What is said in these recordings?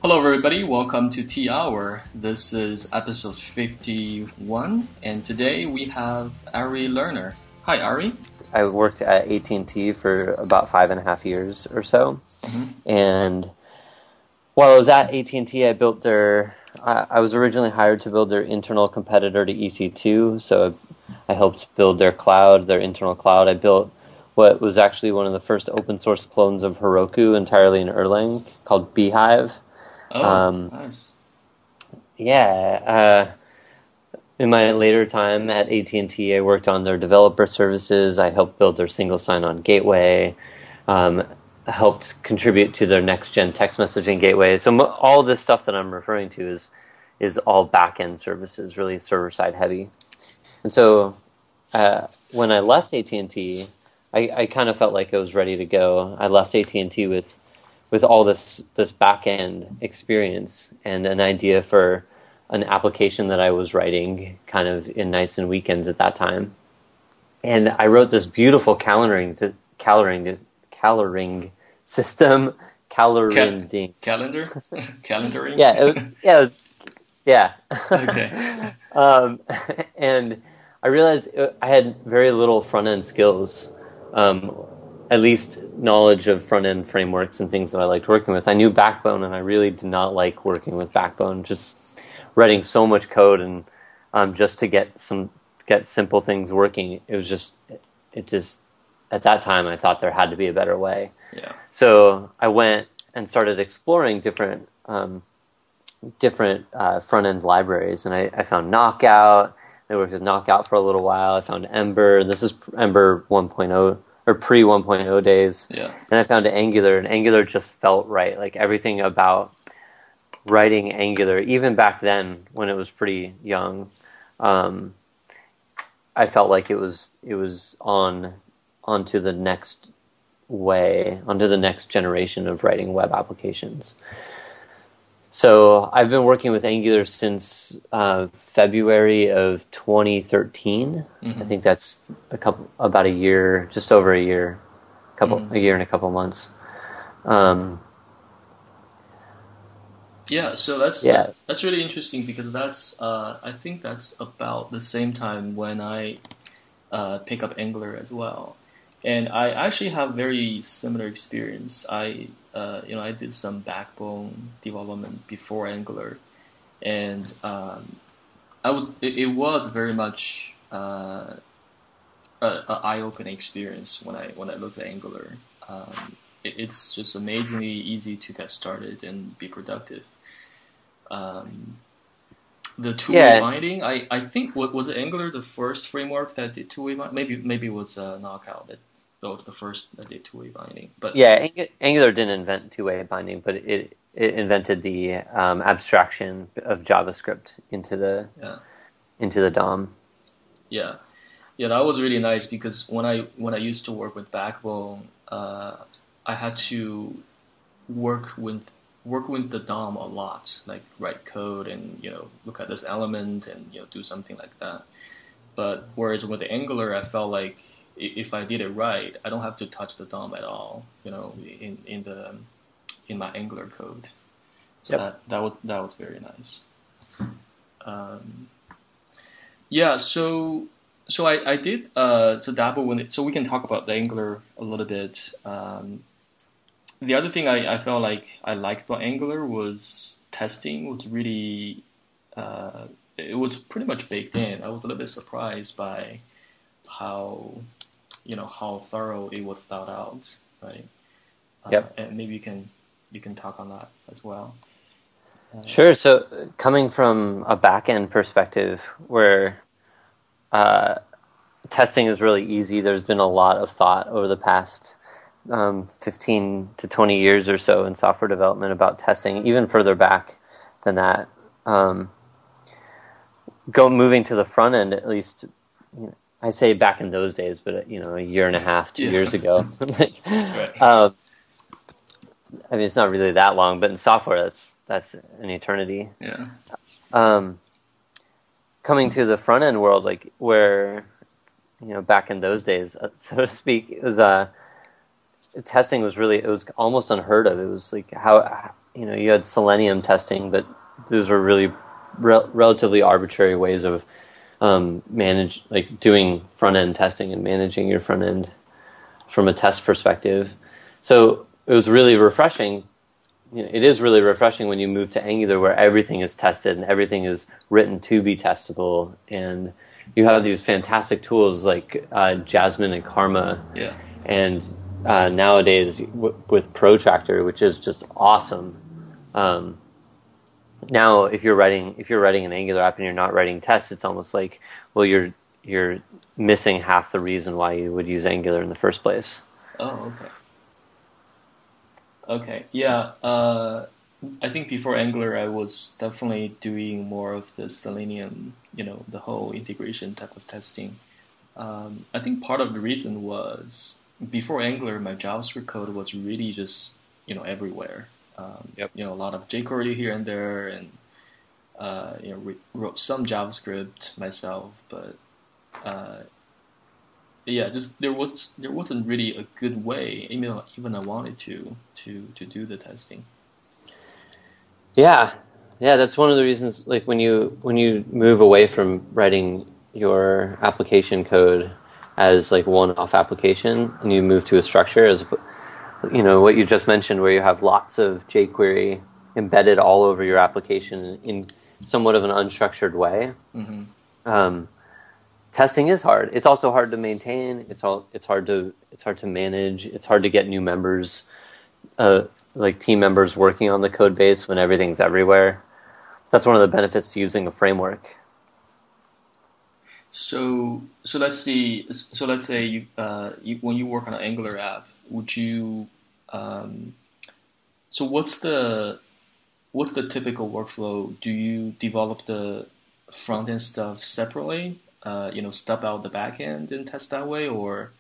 Hello, everybody. Welcome to T Hour. This is episode 51, and today we have Ari Lerner. Hi, Ari. I worked at AT&T for about 5.5 years or so, and while I was at AT&T, I built I was originally hired to build their internal competitor to EC2, so I helped build their cloud, their internal cloud. I built what was actually one of the first open source clones of Heroku entirely in Erlang called Beehive. Nice. Yeah. In my later time at AT&T, I worked on their developer services. I helped build their single sign-on gateway. Helped contribute to their next-gen text messaging gateway. So all this stuff that I'm referring to is all back-end services, really server-side heavy. And so when I left AT&T, I kind of felt like I was ready to go. I left AT&T with all this back-end experience and an idea for an application that I was writing kind of in nights and weekends at that time. And I wrote this beautiful calendaring system, Calendar? Calendaring? Yeah. Okay. And I realized I had very little front-end skills, at least knowledge of front-end frameworks and things that I liked working with. I knew Backbone, and I really did not like working with Backbone, just writing so much code and just to get simple things working. It just at that time I thought there had to be a better way. Yeah. So I went and started exploring different front-end libraries, and I found Knockout. I worked with Knockout for a little while. I found Ember. This is Ember 1.0 or pre 1.0 days. Yeah. And I found Angular, and Angular just felt right. Like everything about writing Angular, even back then when it was pretty young, I felt like it was onto the next generation of writing web applications. So I've been working with Angular since February of 2013. I think that's about a year, just over a year, a year and a couple months. So that's really interesting because that's I think that's about the same time when I pick up Angular as well. And I actually have very similar experience. I did some Backbone development before Angular, and it was very much an eye-opening experience when I looked at Angular. It's just amazingly easy to get started and be productive. The two-way binding, I think was it Angular the first framework that did two-way binding? Maybe it was Knockout that was the first that did two-way binding. But yeah, Angular didn't invent two-way binding, but it invented the abstraction of JavaScript into the DOM. Yeah, that was really nice because when I used to work with Backbone, I had to work with the DOM a lot, like write code and look at this element and do something like that. But whereas with the Angular, I felt like if I did it right, I don't have to touch the DOM at all, in my Angular code. So that was very nice. So I did dabble with it. So we can talk about the Angular a little bit. The other thing I felt like I liked about Angular was testing was really it was pretty much baked in. I was a little bit surprised by how thorough it was thought out, right? And maybe you can talk on that as well. Sure. So coming from a back-end perspective where testing is really easy, there's been a lot of thought over the past 15 to 20 years or so in software development about testing, even further back than that. Moving to the front end, at least, I say back in those days, but a year and a half, 2 years ago. Right. I mean, it's not really that long, but in software, that's an eternity. Yeah. Coming to the front end world, like where back in those days, so to speak, it was testing was really, it was almost unheard of. It was like you had Selenium testing, but those were really relatively arbitrary ways of doing front end testing and managing your front end from a test perspective. So it was really refreshing. It is really refreshing when you move to Angular, where everything is tested and everything is written to be testable, and you have these fantastic tools like Jasmine and Karma, and nowadays with Protractor, which is just awesome. Now, if you're writing an Angular app and you're not writing tests, it's almost like, well, you're missing half the reason why you would use Angular in the first place. Oh, okay. Okay, yeah. I think before Angular, I was definitely doing more of the Selenium, the whole integration type of testing. I think part of the reason was before Angular, my JavaScript code was really just, everywhere. A lot of jQuery here and there, and wrote some JavaScript myself, but just there wasn't really a good way, even I wanted to do the testing. Yeah, that's one of the reasons. Like when you move away from writing your application code as like one-off application, and you move to a structure as what you just mentioned, where you have lots of jQuery embedded all over your application in somewhat of an unstructured way. Mm-hmm. Testing is hard. It's also hard to maintain. It's hard to manage. It's hard to get new members, like team members working on the code base when everything's everywhere. That's one of the benefits to using a framework. So let's see. So let's say you when you work on an Angular app, would you? So what's the typical workflow? Do you develop the front end stuff separately? Stub out the back end and test that way, or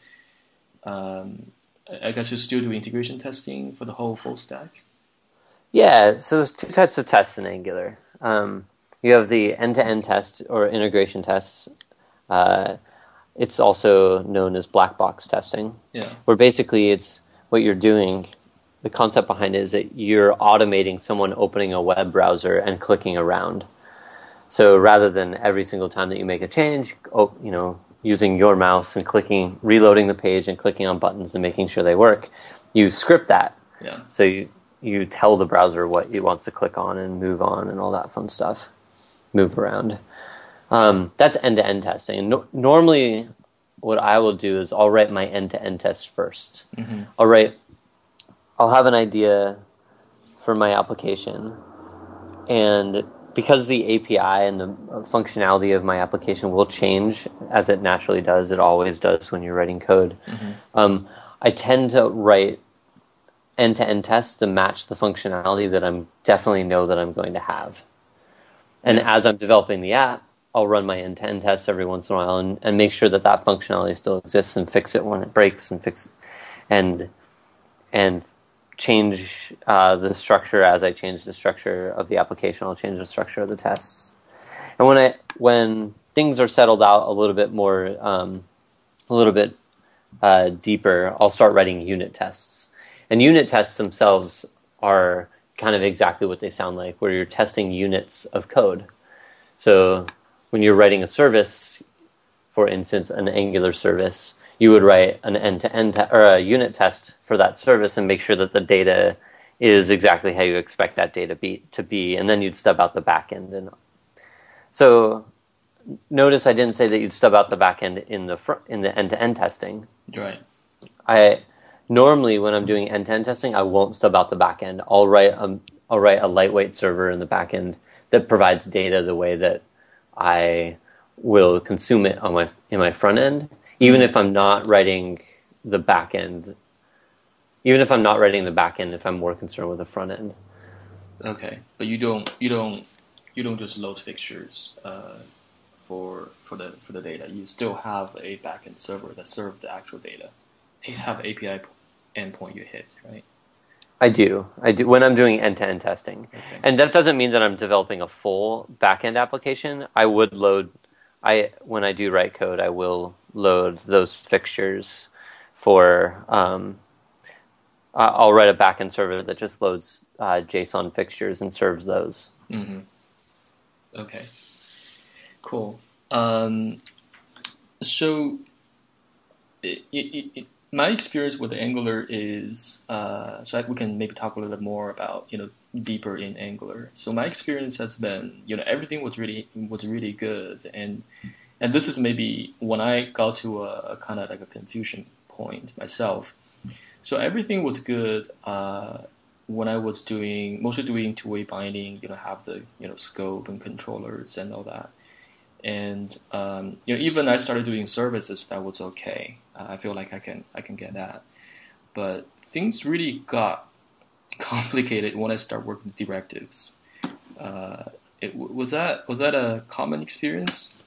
I guess you still do integration testing for the whole full stack? Yeah, so there's two types of tests in Angular. You have the end-to-end test or integration tests. It's also known as black box testing, where basically it's what you're doing. The concept behind it is that you're automating someone opening a web browser and clicking around. So rather than every single time that you make a change, using your mouse and reloading the page and clicking on buttons and making sure they work, you script that. Yeah. So you tell the browser what it wants to click on and move on and all that fun stuff, move around. That's end-to-end testing. And normally what I will do is I'll write my end-to-end test first. Mm-hmm. I'll have an idea for my application, and because the API and the functionality of my application will change as it naturally does, it always does when you're writing code, mm-hmm. I tend to write end-to-end tests to match the functionality that I'm definitely know that I'm going to have. And as I'm developing the app, I'll run my end-to-end tests every once in a while and make sure that functionality still exists and fix it when it breaks and change the structure as I change the structure of the application. I'll change the structure of the tests. And when things are settled out a little bit more, deeper, I'll start writing unit tests. And unit tests themselves are kind of exactly what they sound like, where you're testing units of code. So when you're writing a service, for instance, an Angular service, you would write an end-to-end or a unit test for that service and make sure that the data is exactly how you expect that data to be, and then you'd stub out the backend. And so, notice I didn't say that you'd stub out the backend in the end-to-end testing. Right. Normally when I'm doing end-to-end testing, I won't stub out the backend. I'll write a lightweight server in the backend that provides data the way that I will consume it in my front end. Even if I'm not writing the back end, if I'm more concerned with the front end. Okay, but you don't just load fixtures for the data. You still have a backend server that serves the actual data. You have API endpoint you hit, right? I do when I'm doing end-to-end testing, okay. And that doesn't mean that I'm developing a full backend application. When I do write code, I will load those fixtures for I'll write a backend server that just loads JSON fixtures and serves those. Mm-hmm. Okay, cool. So my experience with Angular is we can maybe talk a little bit more about deeper in Angular. So my experience has been everything was really good, and this is maybe when I got to a kind of like a confusion point myself. So everything was good when I was mostly doing two-way binding, have the scope and controllers and all that. And even I started doing services, that was okay. I feel like I can get that. But things really got complicated when I started working with directives. Was that a common experience?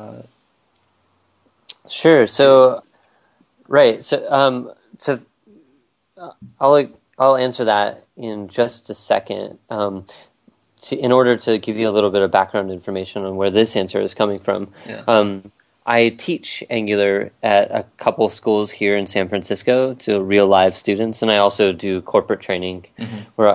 Sure. So right. So I'll answer that in just a second. In order to give you a little bit of background information on where this answer is coming from, I teach Angular at a couple schools here in San Francisco to real live students, and I also do corporate training where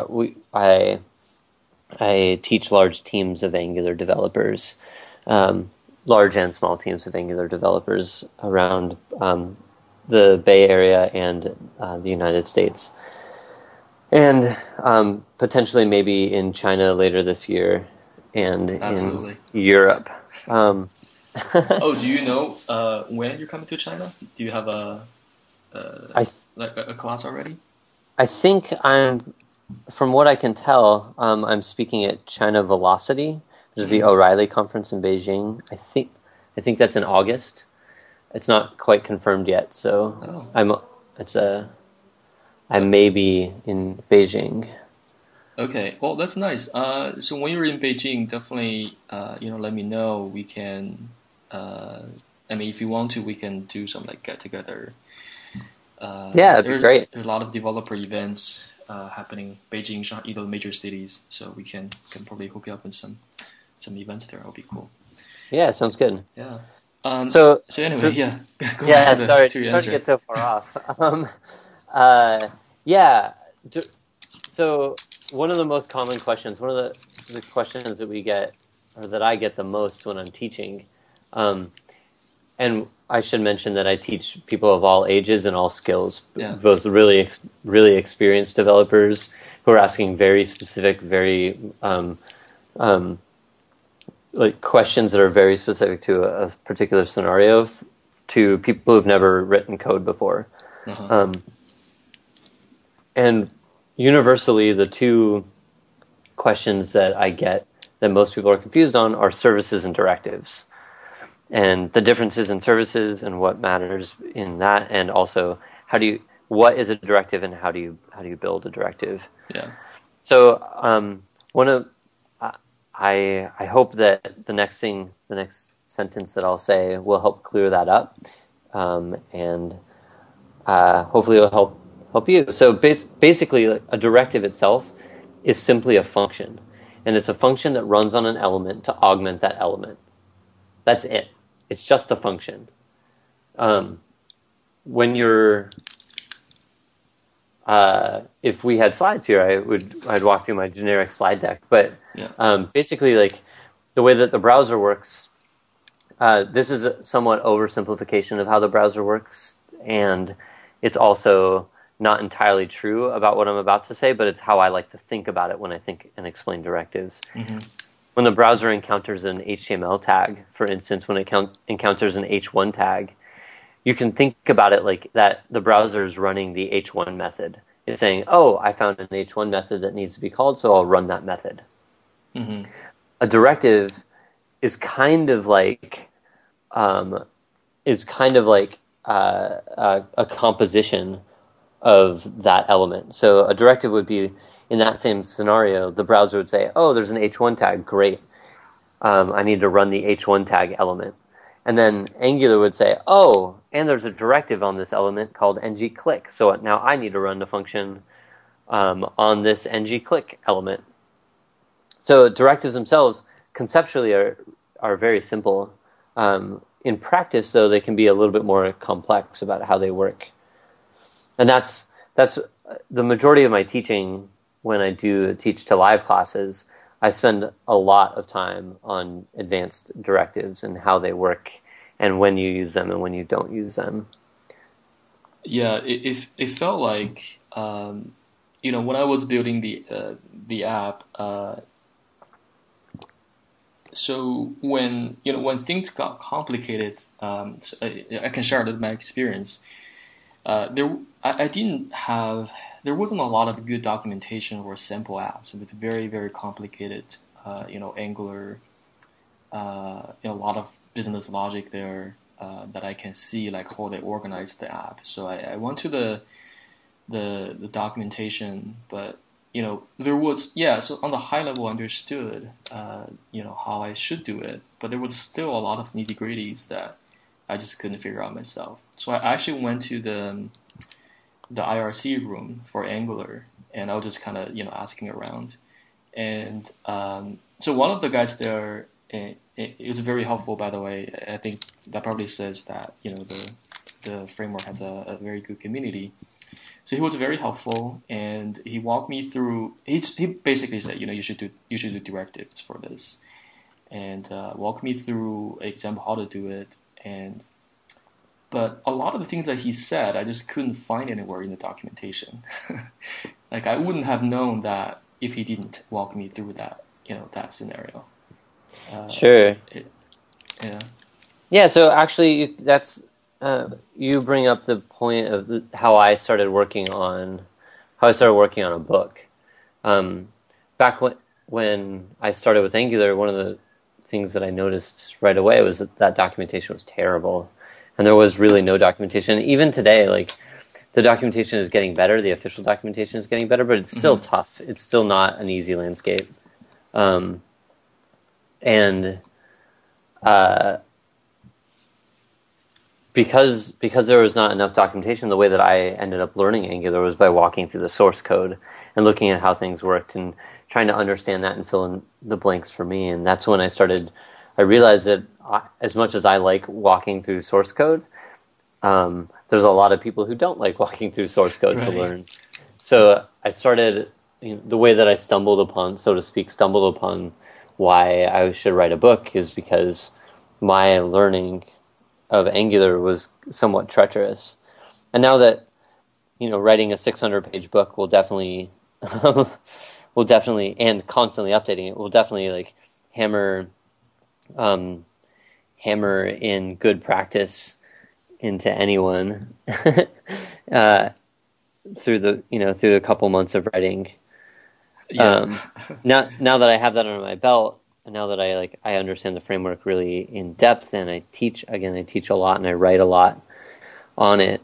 I teach large teams of Angular developers, large and small teams of Angular developers around the Bay Area and the United States. And potentially maybe in China later this year and Absolutely. in Europe. Oh, do you know when you're coming to China? Do you have a class already? I think from what I can tell, I'm speaking at China Velocity, which is the O'Reilly conference in Beijing. I think that's in August. It's not quite confirmed yet, so I may be in Beijing. Okay, well that's nice. So when you're in Beijing, definitely let me know. We can, if you want to, we can do some like get together. That'd be great. There's a lot of developer events happening Beijing, Shanghai, the major cities. So we can probably hook you up with some events there. That'll be cool. Yeah, sounds good. Yeah. So anyway, sorry to get so far off. So one of the most common questions, one of the questions that we get, or that I get the most when I'm teaching, and I should mention that I teach people of all ages and all skills, both really really experienced developers who are asking very specific, very like questions that are very specific to a particular scenario, to people who've never written code before. And universally, the two questions that I get that most people are confused on are services and directives, and the differences in services and what matters in that, and also what is a directive and how do you build a directive. Yeah. So I hope that the next sentence that I'll say will help clear that up, and hopefully it'll help you. So basically, a directive itself is simply a function, and it's a function that runs on an element to augment that element. That's it. It's just a function. When you're if we had slides here, I'd walk through my generic slide deck. But basically, like the way that the browser works, this is a somewhat oversimplification of how the browser works, and it's also not entirely true about what I'm about to say, but it's how I like to think about it when I think and explain directives. When the browser encounters an HTML tag, for instance, when it encounters an H1 tag, you can think about it like that the browser is running the H1 method. It's saying, oh, I found an H1 method that needs to be called, so I'll run that method. A directive is kind of like a composition of that element. So a directive would be, in that same scenario, the browser would say, oh, there's an H1 tag, great. I need to run the H1 tag element. And then Angular would say, oh, and there's a directive on this element called ngClick. So now I need to run the function on this ngClick element. So directives themselves conceptually are very simple. In practice, though, they can be a little bit more complex about how they work. And that's the majority of my teaching, when I do teach to live classes, I spend a lot of time on advanced directives and how they work and when you use them and when you don't use them. Yeah, it felt like when I was building the app. So when things got complicated, so I can share my experience. I didn't have there wasn't a lot of good documentation for simple apps. It was very very complicated. Angular, a lot of business logic there that I can see like how they organize the app. So I went to the documentation, but there was so on the high level I understood how I should do it, but there was still a lot of nitty gritties that I just couldn't figure out myself. So I actually went to the IRC room for Angular, and I was just kind of asking around, and so one of the guys there, it was very helpful, by the way. I think that probably says that the framework has a very good community. So he was very helpful, and he walked me through. He basically said, you should do directives for this, and walked me through an example how to do it. But a lot of the things that he said, I just couldn't find anywhere in the documentation. Like I wouldn't have known that if he didn't walk me through that scenario. Sure. Yeah. Yeah. So actually, that's. You bring up the point of how I started working on a book. Back when I started with Angular, one of the things that I noticed right away was that documentation was terrible, and there was really no documentation. Even today, like the documentation is getting better, the official documentation is getting better, but it's still tough. It's still not an easy landscape, Because there was not enough documentation, the way that I ended up learning Angular was by walking through the source code and looking at how things worked and trying to understand that and fill in the blanks for me. And that's when I realized that as much as I like walking through source code, there's a lot of people who don't like walking through source code to learn. So I started, the way that I stumbled upon why I should write a book is because my learning of Angular was somewhat treacherous. And now that, writing a 600-page book will definitely, and constantly updating it, will definitely like hammer in good practice into anyone through the couple months of writing. Yeah. Now that I have that under my belt, and now that I understand the framework really in depth, and I teach a lot and I write a lot on it.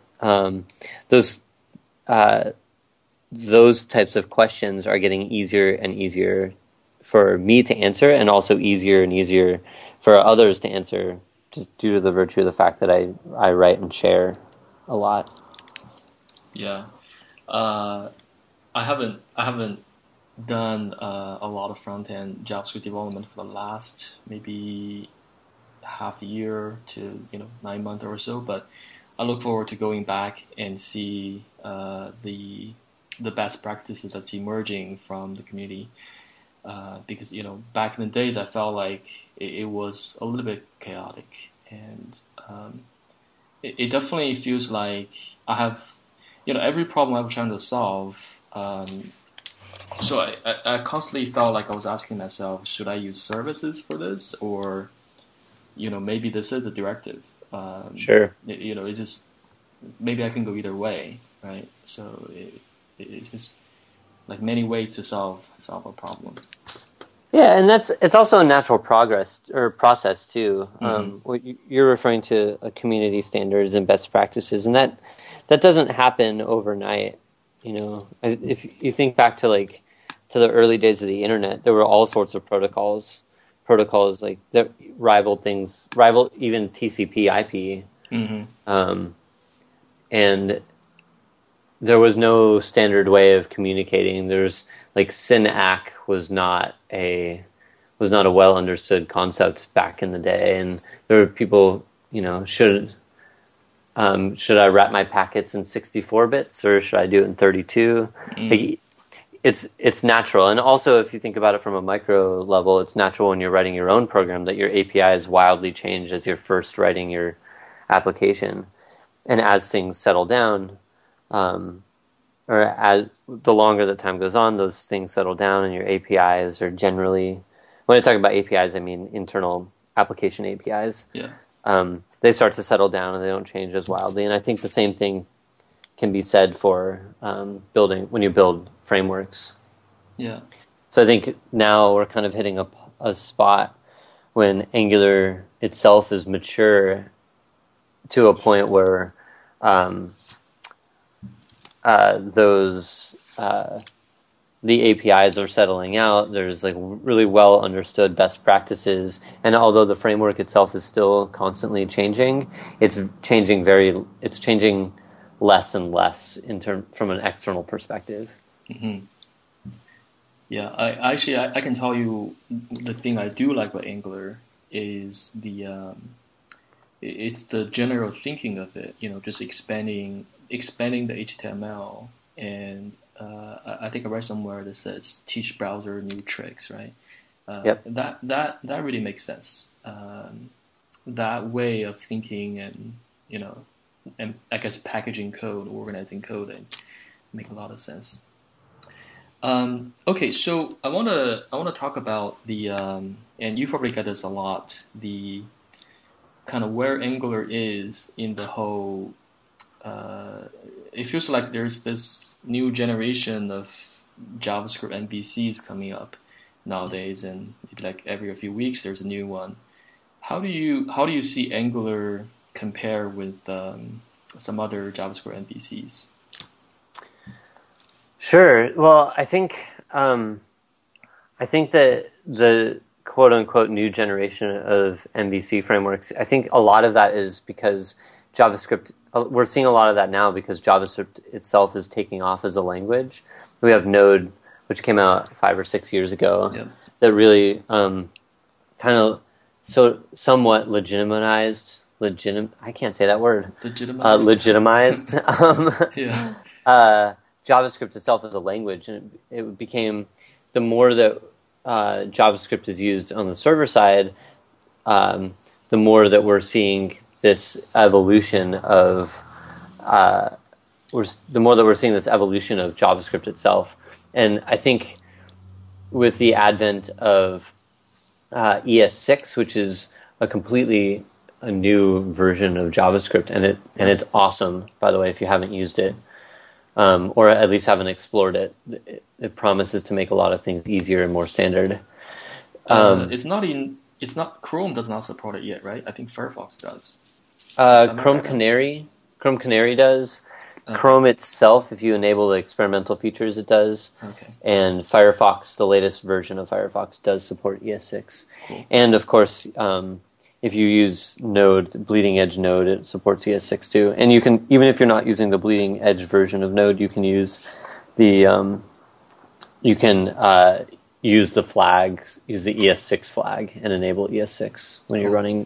Those types of questions are getting easier and easier for me to answer, and also easier and easier for others to answer, just due to the virtue of the fact that I write and share a lot. Yeah, I haven't done a lot of front-end JavaScript development for the last maybe half a year to 9 months or so, but I look forward to going back and see the best practices that's emerging from the community, because back in the days I felt like it was a little bit chaotic, and it definitely feels like I have every problem I'm trying to solve. So I constantly felt like I was asking myself, should I use services for this, or maybe this is a directive. Sure. It just maybe I can go either way, right? So it's just like many ways to solve a problem. Yeah, and it's also a natural process too. What you're referring to community standards and best practices, and that doesn't happen overnight. If you think back to the early days of the internet, there were all sorts of protocols like that rivaled even TCP/IP, and there was no standard way of communicating. There's SYN-ACK was not a well understood concept back in the day, and there were people should I wrap my packets in 64 bits or should I do it in 32? Like, it's natural. And also, if you think about it from a micro level, it's natural when you're writing your own program that your APIs wildly change as you're first writing your application. And as things settle down, or as the longer the time goes on, those things settle down and your APIs are generally, when I talk about APIs, I mean internal application APIs. Yeah. They start to settle down and they don't change as wildly. And I think the same thing can be said for building when you build frameworks. Yeah. So I think now we're kind of hitting a spot when Angular itself is mature to a point where the APIs are settling out. There's like really well understood best practices, and although the framework itself is still constantly changing, it's changing less and less from an external perspective. Mm-hmm. Yeah, I can tell you the thing I do like about Angular is it's the general thinking of it. Just expanding the HTML, and I think I read somewhere that says teach browser new tricks, right? Yep. That really makes sense. That way of thinking, and and I guess packaging code, organizing code, and make a lot of sense. Okay, so I wanna talk about the and you probably get this a lot, the kind of where Angular is in the whole. It feels like there's this new generation of JavaScript MVCs coming up nowadays, and like every few weeks there's a new one. How do you see Angular compare with some other JavaScript MVCs? Sure. Well, I think that the quote unquote new generation of MVC frameworks, I think a lot of that is because JavaScript. We're seeing a lot of that now because JavaScript itself is taking off as a language. We have Node, which came out 5 or 6 years ago, Yep. that really kind of somewhat legitimized. I can't say that word. Legitimized. Yeah. JavaScript itself as a language, and it became the more that JavaScript is used on the server side, the more that we're seeing this evolution of JavaScript itself. And I think with the advent of ES6, which is a completely a new version of JavaScript, and it's awesome, by the way, if you haven't used it, or at least haven't explored it. It promises to make a lot of things easier and more standard. It's not Chrome does not support it yet, right? I think Firefox does. Chrome Canary does. Okay. Chrome itself, if you enable the experimental features, it does. Okay. And Firefox, the latest version of Firefox, does support ES6. Cool. And of course, if you use Node, Bleeding Edge Node, it supports ES6 too. And you can, even if you're not using the Bleeding Edge version of Node, you can use the use the flags, use the ES6 flag, and enable ES6 when you're running.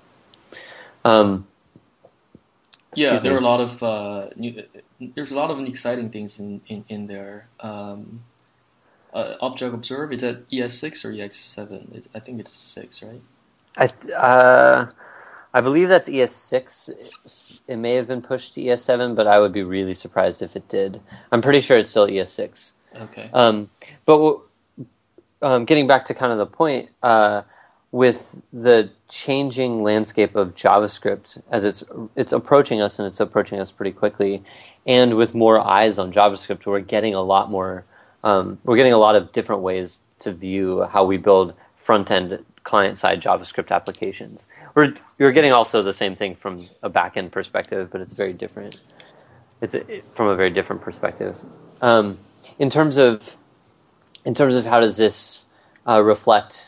Yeah, there are a lot of there's a lot of exciting things in there. Object Observe, is that ES6 or EX7? I think it's 6, right? I believe that's ES6. It may have been pushed to ES7, but I would be really surprised if it did. I'm pretty sure it's still ES6. Okay. But getting back to kind of the point, with the changing landscape of JavaScript as it's approaching us, and it's approaching us pretty quickly, and with more eyes on JavaScript, we're getting a lot of different ways to view how we build front-end client-side JavaScript applications. You're getting also the same thing from a back-end perspective, but it's very different. From a very different perspective. In terms of how does this reflect,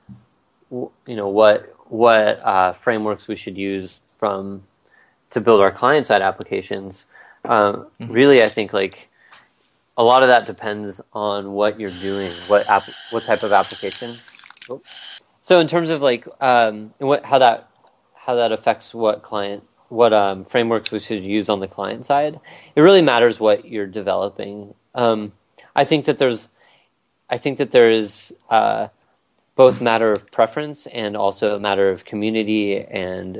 what frameworks we should use to build our client-side applications. Really, I think like a lot of that depends on what you're doing, what type of application. So in terms of like how that affects what client frameworks we should use on the client side, it really matters what you're developing. I think that there is both matter of preference and also a matter of community and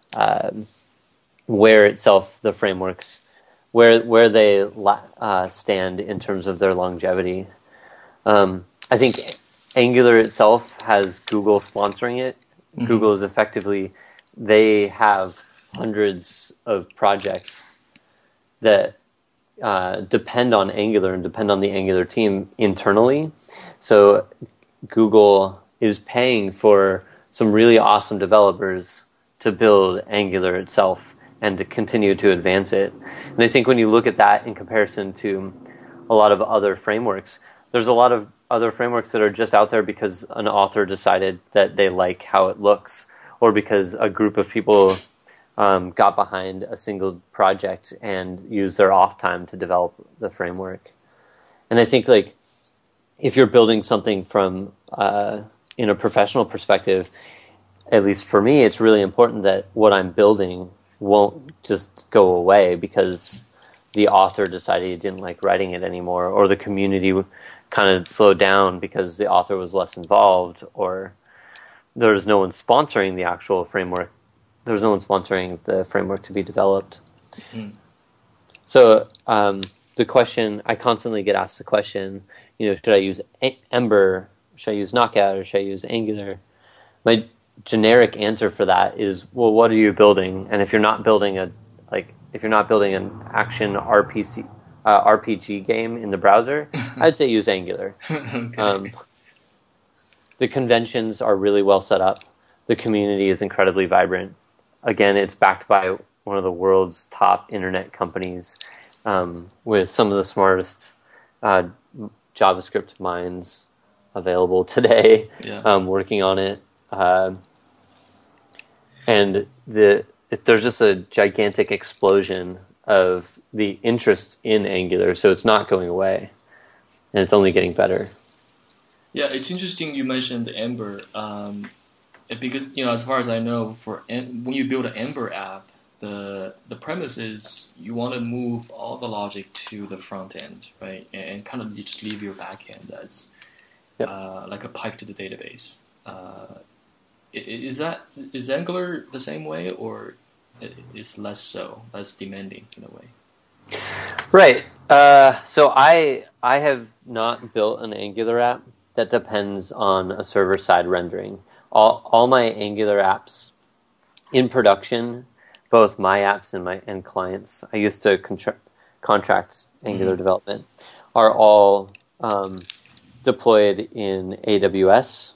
where itself the frameworks where they stand in terms of their longevity. I think Angular itself has Google sponsoring it. Mm-hmm. Google is effectively, they have hundreds of projects that depend on Angular and depend on the Angular team internally. So Google is paying for some really awesome developers to build Angular itself and to continue to advance it. And I think when you look at that in comparison to a lot of other frameworks, there's a lot of other frameworks that are just out there because an author decided that they like how it looks, or because a group of people got behind a single project and used their off time to develop the framework. And I think like if you're building something from in a professional perspective, at least for me, it's really important that what I'm building won't just go away because the author decided he didn't like writing it anymore, or the community kind of slowed down because the author was less involved, or there was no one sponsoring the actual framework. There was no one sponsoring the framework to be developed. Mm-hmm. So the question, I constantly get asked the question, should I use Ember, should I use Knockout, or should I use Angular? My generic answer for that is, well, what are you building? And if you're not building an action RPG game in the browser, I'd say use Angular. Okay. The conventions are really well set up. The community is incredibly vibrant. Again, it's backed by one of the world's top internet companies with some of the smartest JavaScript minds available today, working on it. And there's just a gigantic explosion of the interest in Angular, so it's not going away, and it's only getting better. Yeah, it's interesting you mentioned Ember, because as far as I know, when you build an Ember app, the premise is you want to move all the logic to the front end, right, and kind of just leave your back end as like a pipe to the database. Is Angular the same way, or is less demanding in a way? Right. So I have not built an Angular app that depends on a server-side rendering. All my Angular apps in production, both my apps and clients, I used to contract Angular development, are all deployed in AWS.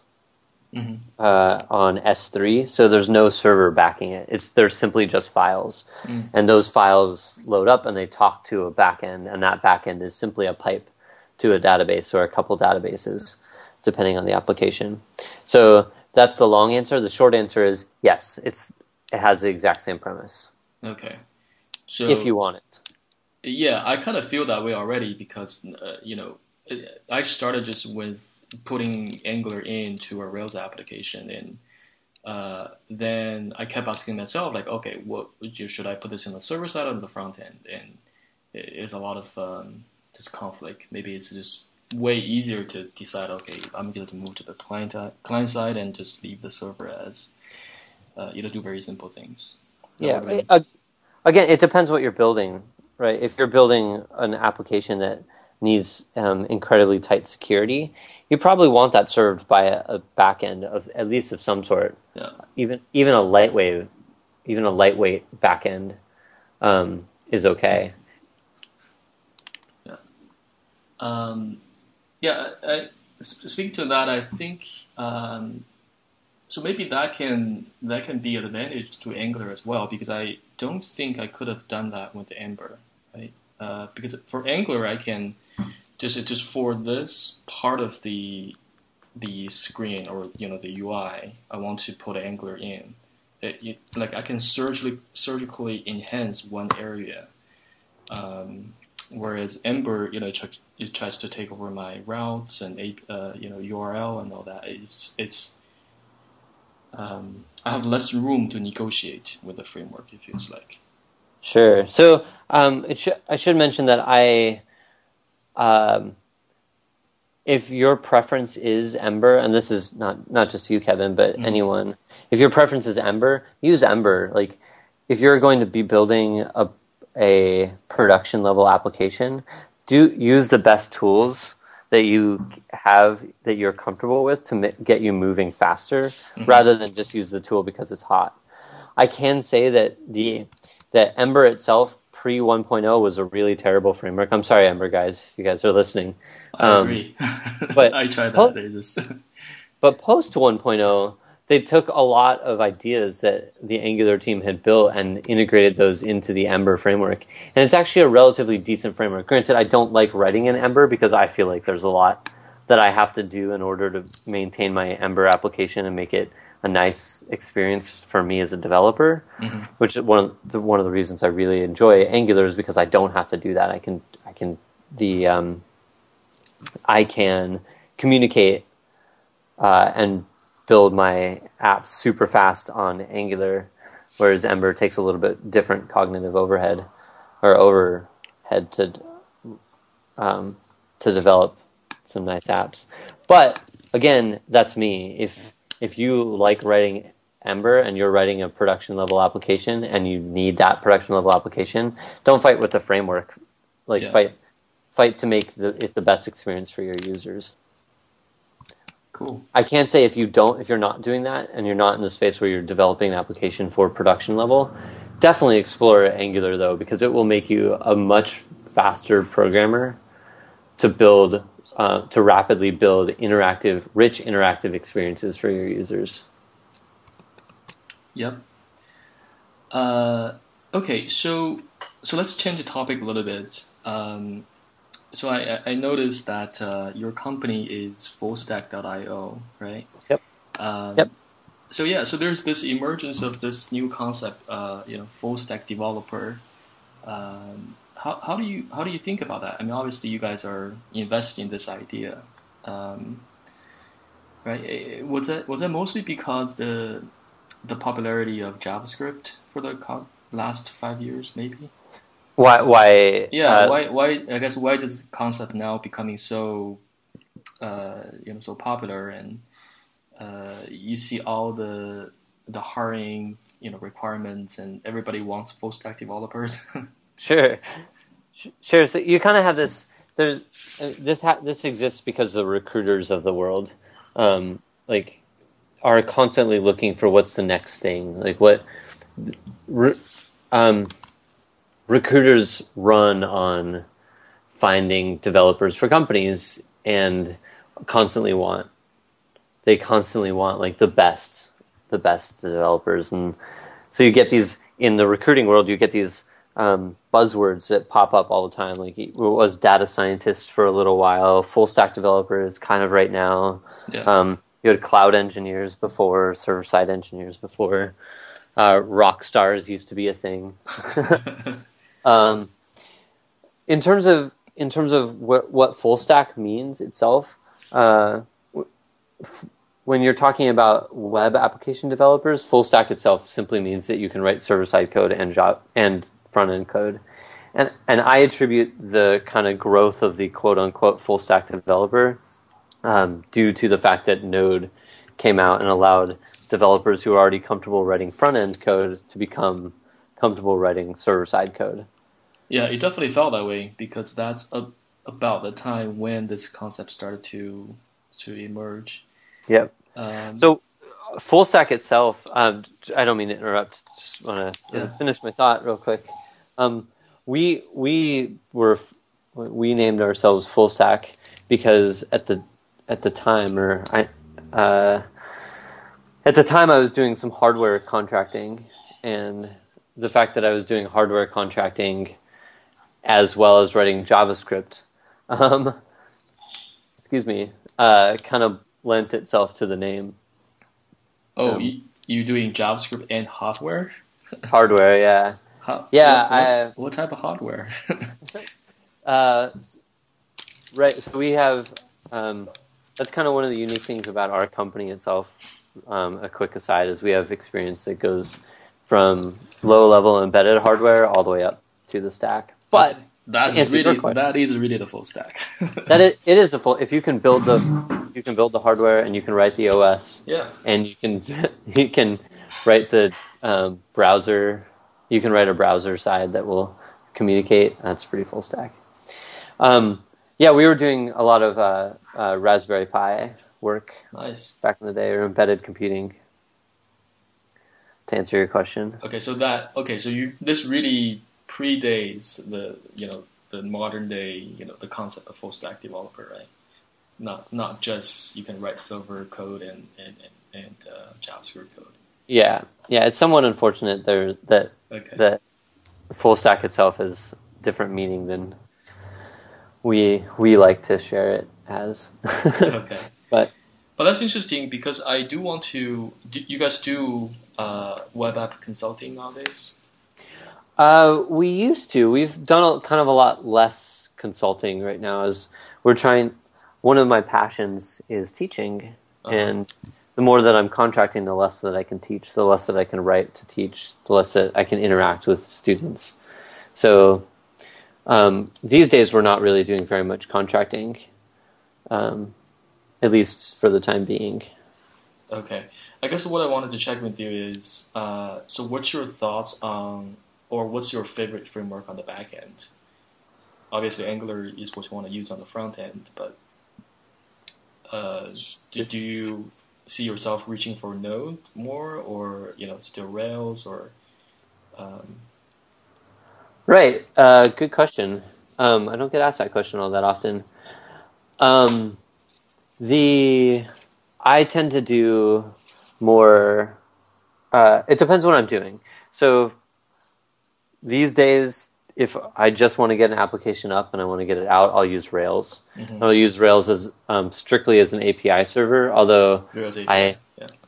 On S3, so there's no server backing it. They're simply just files, and those files load up and they talk to a backend, and that backend is simply a pipe to a database or a couple databases, depending on the application. So that's the long answer. The short answer is yes. It has the exact same premise. Okay, so if you want it, yeah, I kind of feel that way already because I started just with putting Angular into a Rails application, and then I kept asking myself, like, okay, should I put this in the server side or the front end? And it's a lot of just conflict. Maybe it's just way easier to decide, okay, I'm going to move to the client side and just leave the server as do very simple things. Yeah. Again, it depends what you're building, right? If you're building an application that needs incredibly tight security, you probably want that served by a backend of at least of some sort. Yeah. Even a lightweight backend is okay. Yeah. Speaking to that, I think so. Maybe that can be an advantage to Angular as well, because I don't think I could have done that with Ember, right? Because for Angular, I can just for this part of the screen or the UI, I want to put Angular in. Like I can surgically enhance one area, whereas Ember, it tries to take over my routes and URL and all that. I have less room to negotiate with the framework. It feels like. Sure. So I should mention that if your preference is Ember, and this is not just you, Kevin, but anyone, if your preference is Ember, use Ember. Like, if you're going to be building a production level application, use the best tools that you have that you're comfortable with to get you moving faster, rather than just use the tool because it's hot. I can say that that Ember itself pre 1.0 was a really terrible framework. I'm sorry, Ember guys, if you guys are listening. I agree. But I tried that. But post 1.0, they took a lot of ideas that the Angular team had built and integrated those into the Ember framework. And it's actually a relatively decent framework. Granted, I don't like writing in Ember because I feel like there's a lot that I have to do in order to maintain my Ember application and make it a nice experience for me as a developer, which is one of the reasons I really enjoy Angular is because I don't have to do that. I can communicate and build my apps super fast on Angular, whereas Ember takes a little bit different cognitive overhead to develop some nice apps. But again, that's me. If you like writing Ember and you're writing a production level application and you need that production level application, don't fight with the framework. Fight to make it the best experience for your users. Cool. I can't say if you're not doing that and you're not in the space where you're developing an application for production level, definitely explore Angular though, because it will make you a much faster programmer to rapidly build rich interactive experiences for your users. Yep. Okay, so let's change the topic a little bit. So I noticed that your company is fullstack.io, right? Yep. Yep. So there's this emergence of this new concept, full stack developer. How do you think about that? I mean, obviously you guys are investing in this idea, right? Was that mostly because the popularity of JavaScript for the last 5 years, maybe? Why? Yeah. Why? I guess why is this concept now becoming so, so popular, and you see all the hiring, requirements, and everybody wants full stack developers. Sure. So you kind of have this. This exists because the recruiters of the world, are constantly looking for what's the next thing. Like recruiters run on finding developers for companies and constantly want like the best developers. And so you get these in the recruiting world, you get these buzzwords that pop up all the time. Like it was data scientist for a little while, full stack developers kind of right now. Yeah. You had cloud engineers before, server side engineers before. Rock stars used to be a thing. In terms of what full stack means itself, when you're talking about web application developers, full stack itself simply means that you can write server side code and front end code, and I attribute the kind of growth of the quote unquote full stack developer due to the fact that Node came out and allowed developers who are already comfortable writing front end code to become comfortable writing server side code. Yeah, it definitely felt that way because that's about the time when this concept started to emerge. Yep. So full stack itself, I don't mean to interrupt. Just want to finish my thought real quick. We named ourselves full stack because at the time, I was doing some hardware contracting, and the fact that I was doing hardware contracting as well as writing JavaScript, kind of lent itself to the name. Oh, you doing JavaScript and hardware? Hardware, yeah. What type of hardware? Right. So we have. That's kind of one of the unique things about our company itself. a quick aside is we have experience that goes from low-level embedded hardware all the way up to the stack. But that is really the full stack. It is the full. If you can build the hardware and you can write the OS, yeah, and you can write the browser. You can write a browser side that will communicate. That's pretty full stack. Yeah, we were doing a lot of Raspberry Pi work. Nice. Back in the day, or embedded computing. To answer your question. So this really predates the modern day, the concept of full stack developer, right? Not just you can write server code and JavaScript code. Yeah. It's somewhat unfortunate that full stack itself has different meaning than we like to share it as. Okay. But that's interesting because I do want to. You guys do web app consulting nowadays? We used to. We've done kind of a lot less consulting right now. As we're trying. One of my passions is teaching, and the more that I'm contracting, the less that I can teach, the less that I can write to teach, the less that I can interact with students. So these days, we're not really doing very much contracting, at least for the time being. Okay. I guess what I wanted to check with you is, so what's your thoughts on, or what's your favorite framework on the back end? Obviously, Angular is what you want to use on the front end, but do you see yourself reaching for Node more, or still Rails, or? Right. Good question. I don't get asked that question all that often. I tend to do more. It depends what I'm doing. So these days, if I just want to get an application up and I want to get it out, I'll use Rails. Mm-hmm. I'll use Rails as strictly as an API server. Although Rails API.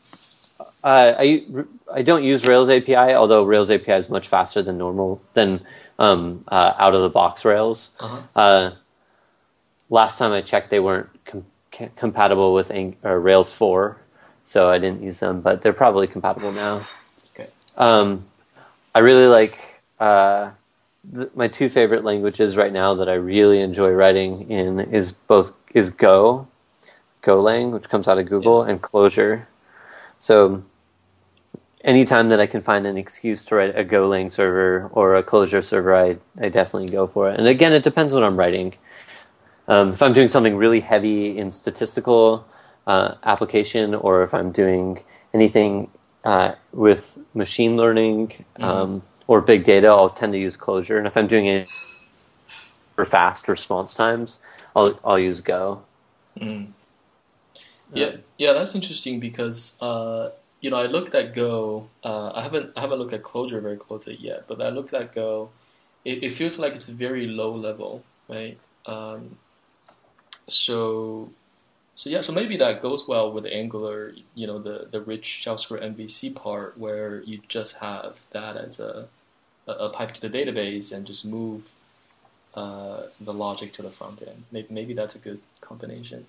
I don't use Rails API. Although Rails API is much faster than out of the box Rails. Uh-huh. Last time I checked, they weren't compatible with Rails 4, so I didn't use them. But they're probably compatible now. Okay. I really like. My two favorite languages right now that I really enjoy writing in is Go, Golang, which comes out of Google, and Clojure. So anytime that I can find an excuse to write a Golang server or a Clojure server, I definitely go for it. And again, it depends what I'm writing. If I'm doing something really heavy in statistical application, or if I'm doing anything with machine learning, or big data, I'll tend to use Clojure. And if I'm doing it for fast response times, I'll use Go. Mm. Yeah, that's interesting because I looked at Go. I haven't looked at Clojure very closely yet, but I looked at Go. It feels like it's very low level, right? So maybe that goes well with Angular. The rich JavaScript MVC part where you just have that as a pipe to the database and just move the logic to the front end. Maybe that's a good combination.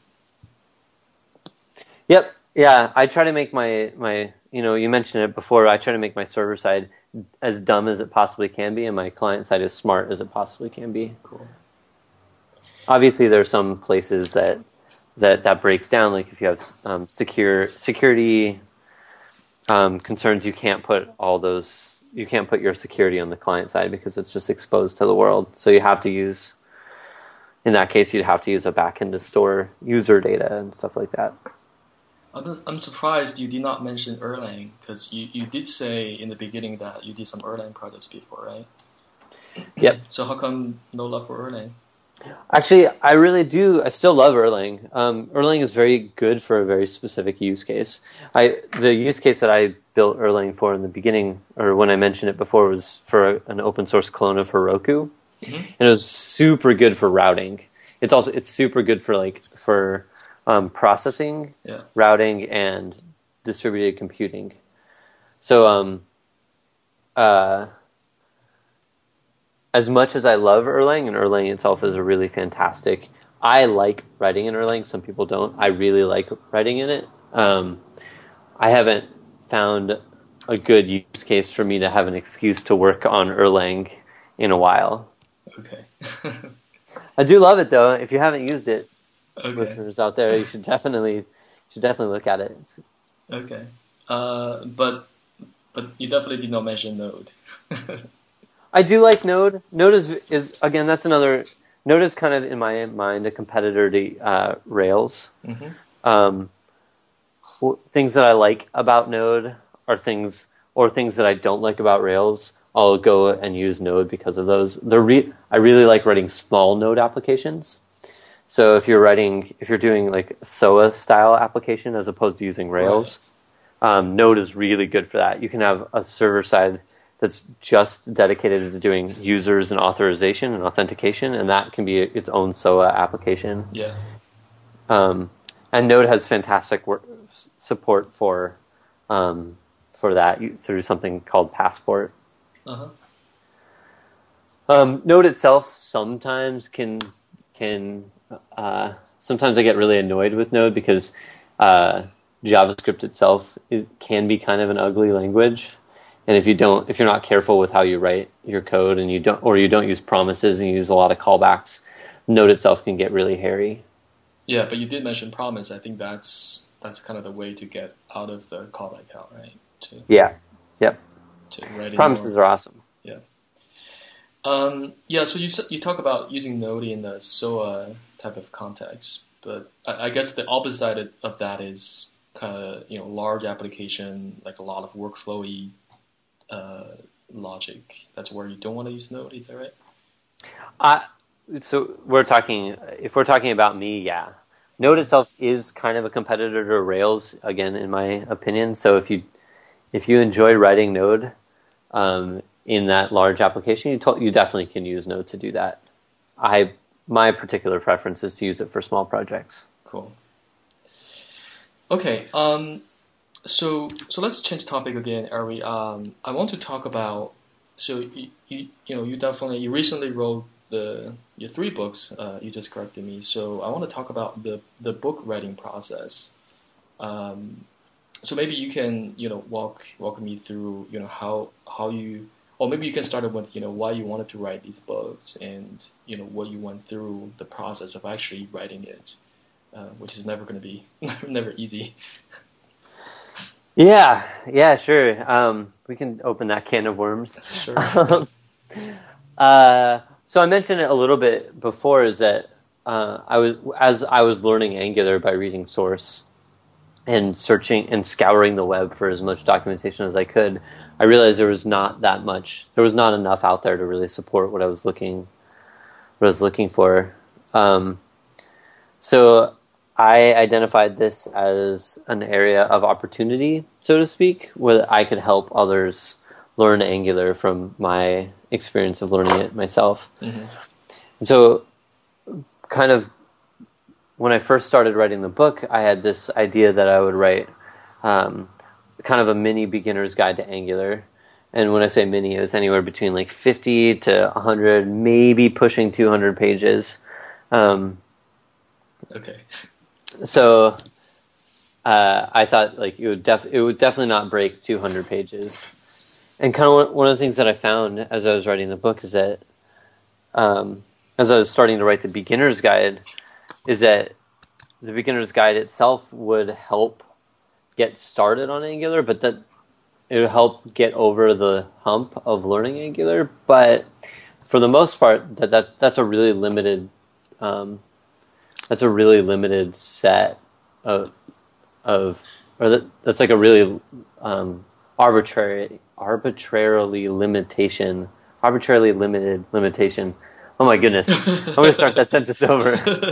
Yep. Yeah, I try to make my you mentioned it before, I try to make my server side as dumb as it possibly can be and my client side as smart as it possibly can be. Cool. Obviously, there are some places that breaks down, like if you have security concerns, you can't put your security on the client side because it's just exposed to the world. So you have to use, in that case, you'd have to use a backend to store user data and stuff like that. I'm surprised you did not mention Erlang, because you did say in the beginning that you did some Erlang projects before, right? Yep. So how come no love for Erlang? Actually, I really do. I still love Erlang. Erlang is very good for a very specific use case. The use case that I built Erlang for in the beginning, or when I mentioned it before, was for an open source clone of Heroku, and it was super good for routing. It's super good for processing, routing, and distributed computing. So as much as I love Erlang, and Erlang itself is a really fantastic, I like writing in Erlang. Some people don't. I really like writing in it. I haven't found a good use case for me to have an excuse to work on Erlang in a while. Okay. I do love it though. If you haven't used it, Okay. listeners out there, you should definitely look at it. Okay. But you definitely did not mention Node. I do like Node. Node is again, that's another. Node is kind of in my mind a competitor to Rails. Mm-hmm. Things that I like about Node are things that I don't like about Rails. I'll go and use Node because of those. I really like writing small Node applications. So if you're doing like SOA style application as opposed to using Rails, right. Node is really good for that. You can have a server side that's just dedicated to doing users and authorization and authentication, and that can be its own SOA application. Yeah. And Node has fantastic support for that through something called Passport. Uh-huh. Node itself sometimes sometimes I get really annoyed with Node because JavaScript itself can be kind of an ugly language, and if you're not careful with how you write your code and you don't use promises and you use a lot of callbacks, Node itself can get really hairy. Yeah, but you did mention promise. I think that's kind of the way to get out of the callback hell, right? Yep. Promises are awesome. Yeah. So you talk about using Node in the SOA type of context, but I guess the opposite side of that is kind of large application, like a lot of workflowy logic. That's where you don't want to use Node. Is that right? So if we're talking about me, yeah. Node itself is kind of a competitor to Rails, again, in my opinion. So if you enjoy writing Node in that large application, you definitely can use Node to do that. My particular preference is to use it for small projects. Cool. Okay. So let's change topic again, Ari. I want to talk about. So you recently wrote your 3 books. You just corrected me. So I want to talk about the book writing process. So maybe you can walk me through how you, or maybe you can start with why you wanted to write these books and what you went through the process of actually writing it, which is never going to be never easy. Yeah, sure. We can open that can of worms. Sure. So I mentioned it a little bit before. Is that I was learning Angular by reading source and searching and scouring the web for as much documentation as I could, I realized there was not enough out there to really support what I was looking for. So I identified this as an area of opportunity, so to speak, where I could help others learn Angular from my experience of learning it myself. Mm-hmm. And so kind of when I first started writing the book, I had this idea that I would write kind of a mini beginner's guide to Angular. And when I say mini, it was anywhere between like 50 to 100, maybe pushing 200 pages. Okay. So I thought like it would definitely not break 200 pages. And kind of one of the things that I found as I was writing the book is that as I was starting to write the beginner's guide, is that the beginner's guide itself would help get started on Angular, but that it would help get over the hump of learning Angular. But for the most part, that's a really limited set that's like a really arbitrarily limited limitation. Oh my goodness. I'm going to start that sentence over.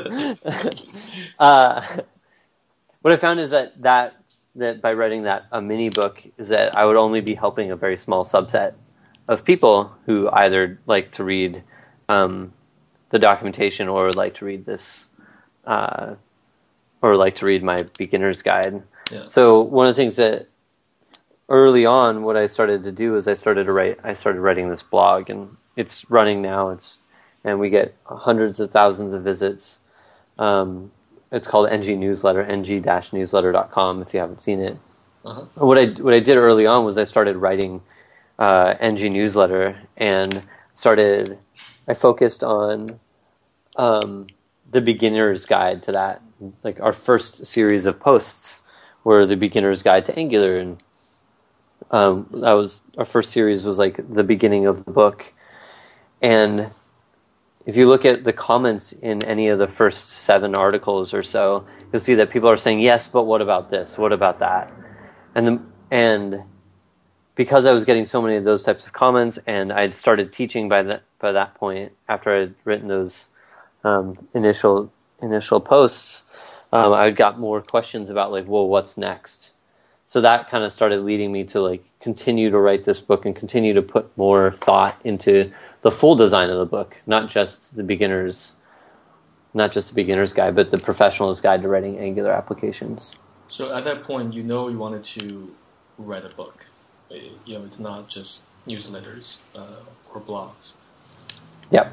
What I found is that by writing a mini book is that I would only be helping a very small subset of people who either like to read the documentation or like to read this or like to read my beginner's guide. Yeah. So one of the things that early on what I started to do is I started writing this blog, and it's running now. And we get hundreds of thousands of visits. It's called NG Newsletter, ng-newsletter.com if you haven't seen it. Uh-huh. What I did early on was I started writing NG newsletter, and I focused on the beginner's guide to that. Like our first series of posts were the beginner's guide to Angular, and that was our first series was like the beginning of the book. And if you look at the comments in any of the first 7 articles or so, you'll see that people are saying, yes, but what about this? What about that? And because I was getting so many of those types of comments, and I'd started teaching by that point, after I'd written those initial posts, I got more questions about like, well, what's next? So that kind of started leading me to like continue to write this book and continue to put more thought into the full design of the book, not just the beginner's guide, but the professional's guide to writing Angular applications. So at that point, you wanted to write a book. It's not just newsletters or blogs. Yep.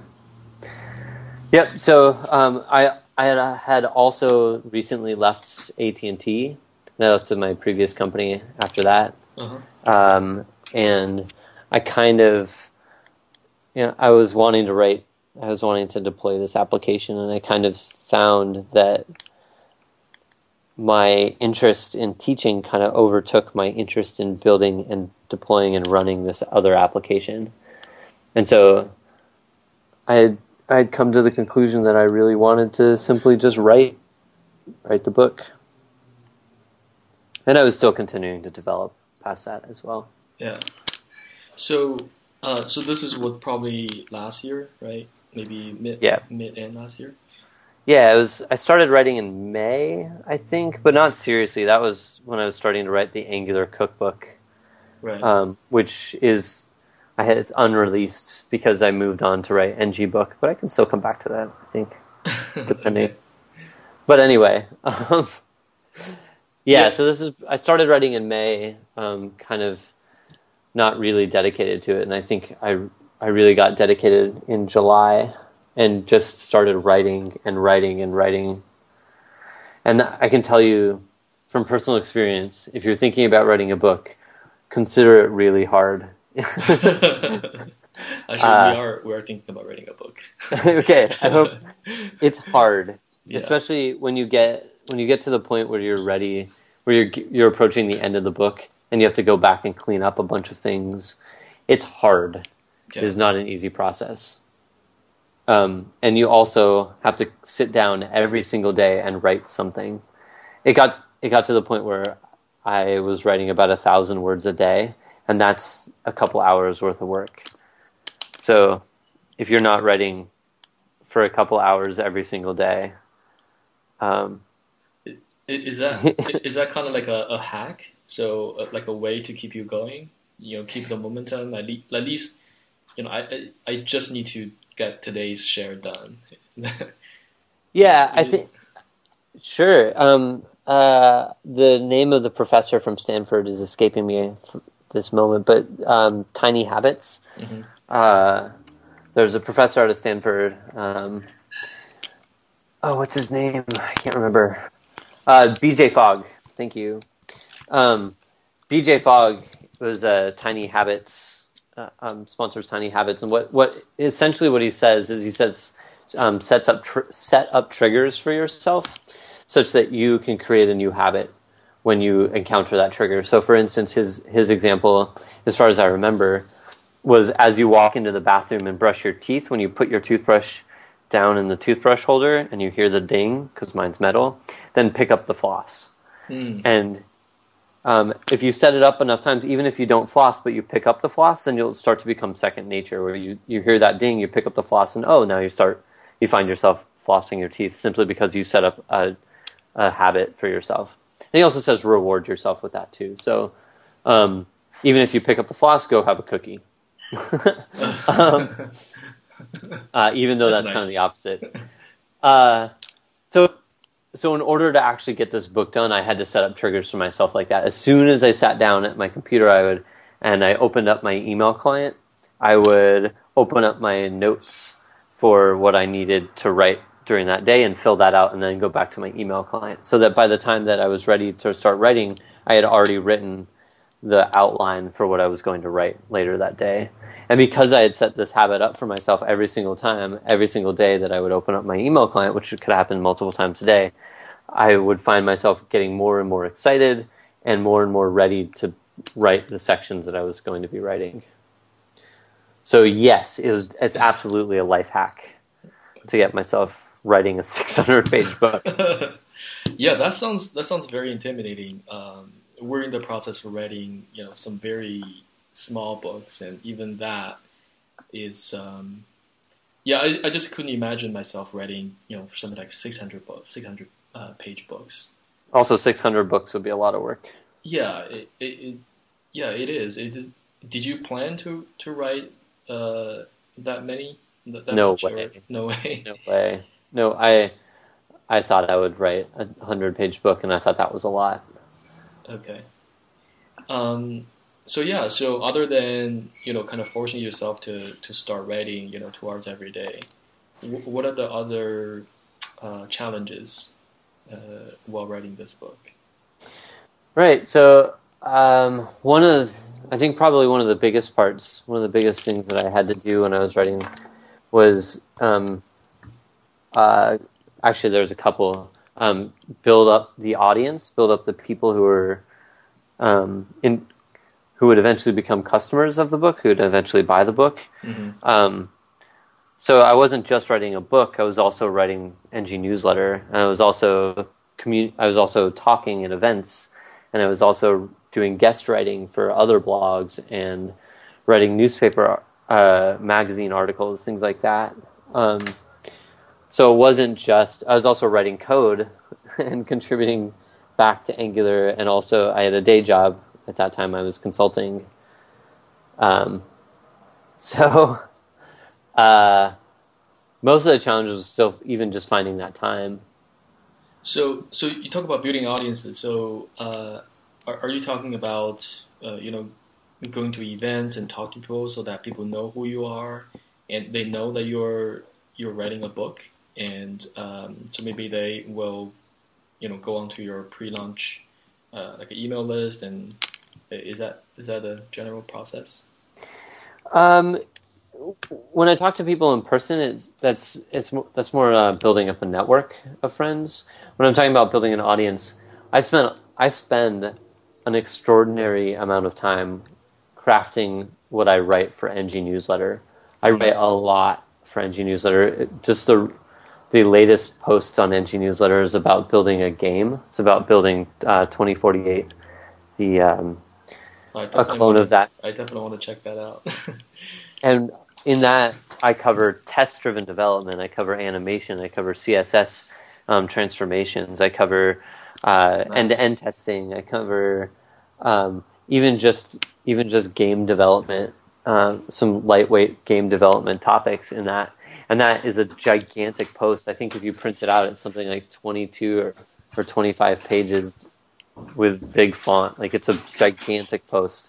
So I had also recently left AT&T. And I left to my previous company after that. Uh-huh. And I kind of, I was wanting to deploy this application, and I kind of found that my interest in teaching kind of overtook my interest in building and deploying and running this other application. And so I'd come to the conclusion that I really wanted to simply just write the book. And I was still continuing to develop past that as well. Yeah. So this is what, probably last year, right? Maybe mid and last year. Yeah, I started writing in May, I think, but not seriously. That was when I was starting to write the Angular cookbook, right? Which is it's unreleased because I moved on to write NG book, but I can still come back to that, I think, depending. Okay. But anyway. Yeah, so I started writing in May, kind of not really dedicated to it, and I think I really got dedicated in July and just started writing and writing and writing. And I can tell you from personal experience, if you're thinking about writing a book, consider it really hard. Actually, we are thinking about writing a book. Okay, I hope it's hard, especially when you get to the point where you're ready, where you're approaching the end of the book, and you have to go back and clean up a bunch of things. It's hard. Yeah. It is not an easy process. And you also have to sit down every single day and write something. It got to the point where I was writing about 1,000 words a day, and that's a couple hours worth of work. So if you're not writing for a couple hours every single day, is that kind of like a hack? So like a way to keep you going, keep the momentum. At least, I just need to get today's share done. Yeah, I think sure. The name of the professor from Stanford is escaping me this moment, but Tiny Habits. Mm-hmm. There's a professor out of Stanford. What's his name? I can't remember. BJ Fogg. Thank you. BJ Fogg was Tiny Habits, sponsors Tiny Habits, and what essentially what he says is set up triggers for yourself such that you can create a new habit when you encounter that trigger. So, for instance, his example, as far as I remember, was as you walk into the bathroom and brush your teeth, when you put your toothbrush down in the toothbrush holder and you hear the ding, because mine's metal, then pick up the floss. And if you set it up enough times, even if you don't floss, but you pick up the floss, then you'll start to become second nature, where you hear that ding, you pick up the floss, and now you find yourself flossing your teeth simply because you set up a habit for yourself. And he also says reward yourself with that too. So even if you pick up the floss, go have a cookie. Even though that's nice. Kind of the opposite. So in order to actually get this book done, I had to set up triggers for myself like that. As soon as I sat down at my computer, I opened up my email client, I would open up my notes for what I needed to write during that day and fill that out and then go back to my email client. So that by the time that I was ready to start writing, I had already written the outline for what I was going to write later that day. And because I had set this habit up for myself every single day that I would open up my email client, which could happen multiple times a day, I would find myself getting more and more excited and more ready to write the sections that I was going to be writing. So yes, it's absolutely a life hack to get myself writing a 600-page book. Yeah, that sounds very intimidating. We're in the process of writing, some very small books, and even that is, I just couldn't imagine myself writing, for something like 600 page books. Also, 600 books would be a lot of work. Yeah, it is. Did you plan to write that many? No much, way. No way. No way. No, I thought I would write a 100-page book, and I thought that was a lot. Okay. So other than, kind of forcing yourself to start writing, 2 hours every day, what are the other challenges while writing this book? Right. So I think probably one of the biggest things that I had to do when I was writing was actually there's a couple. Build up the audience, build up the people who are who would eventually become customers of the book, who would eventually buy the book. Mm-hmm. So I wasn't just writing a book; I was also writing NG newsletter, and I was also talking at events, and I was also doing guest writing for other blogs and writing newspaper, magazine articles, things like that. So it wasn't just, I was also writing code and contributing back to Angular, and also I had a day job at that time. I was consulting. Most of the challenges was still even just finding that time. So you talk about building audiences. So are you talking about going to events and talk to people so that people know who you are and they know that you're writing a book, and so maybe they will go onto your pre-launch like an email list, and is that a general process? When I talk to people in person, that's more building up a network of friends. When I'm talking about building an audience, I spend an extraordinary amount of time crafting what I write for NG Newsletter. I write a lot for NG Newsletter. Just the latest post on NG Newsletter is about building a game. It's about building 2048, a clone of that. I definitely want to check that out. And in that, I cover test-driven development. I cover animation. I cover CSS transformations. I cover end-to-end testing. I cover even just game development, some lightweight game development topics in that. And that is a gigantic post. I think if you print it out, it's something like 22 or 25 pages with big font. Like, it's a gigantic post.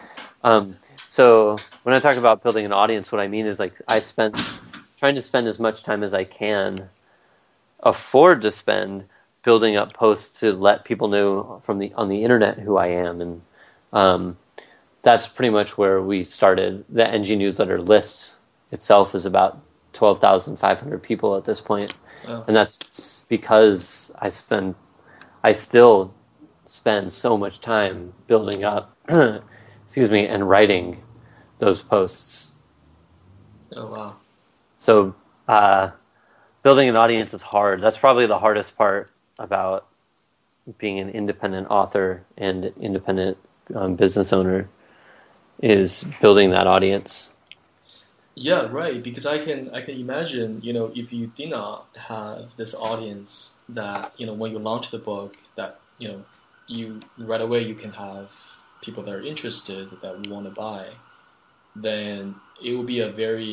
So when I talk about building an audience, what I mean is, like, trying to spend as much time as I can afford to spend building up posts to let people know on the internet who I am. And that's pretty much where we started. The NG Newsletter list itself is about 12,500 people at this point. Oh. And that's because I still spend so much time building up and writing those posts. Oh, wow. So building an audience is hard. That's probably the hardest part about being an independent author and independent business owner, is building that audience. Yeah, right. Because I can imagine, if you did not have this audience that, when you launch the book, that, you right away you can have people that are interested, that want to buy, then it will be a very,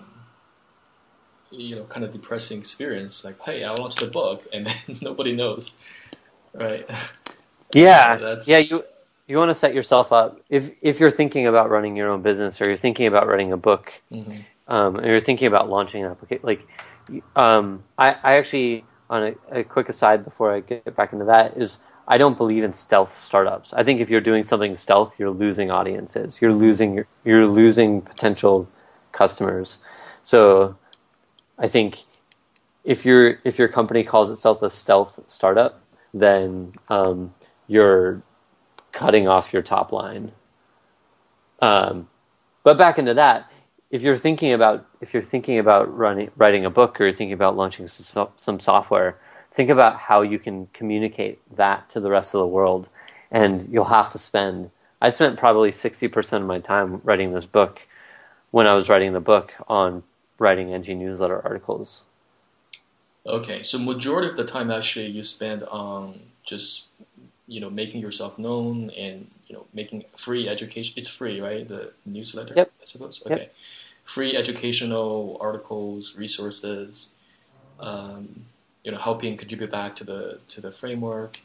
kind of depressing experience. Like, hey, I launched a book, and then nobody knows, right? Yeah, You want to set yourself up. If you're thinking about running your own business, or you're thinking about writing a book, mm-hmm. And you're thinking about launching an application, I actually, on a quick aside before I get back into that, is I don't believe in stealth startups. I think if you're doing something stealth, you're losing audiences. You're losing potential customers. So I think if your company calls itself a stealth startup, then you're cutting off your top line. But back into that, if you're thinking about writing a book, or you're thinking about launching some software, think about how you can communicate that to the rest of the world. And you'll have to spend. I spent probably 60% of my time writing this book, when I was writing the book, on writing NG newsletter articles. Okay, so majority of the time actually you spend on just making yourself known and making free education. It's free, right? The newsletter, yep. I suppose. Okay, yep. Free educational articles, resources, helping contribute back to the framework.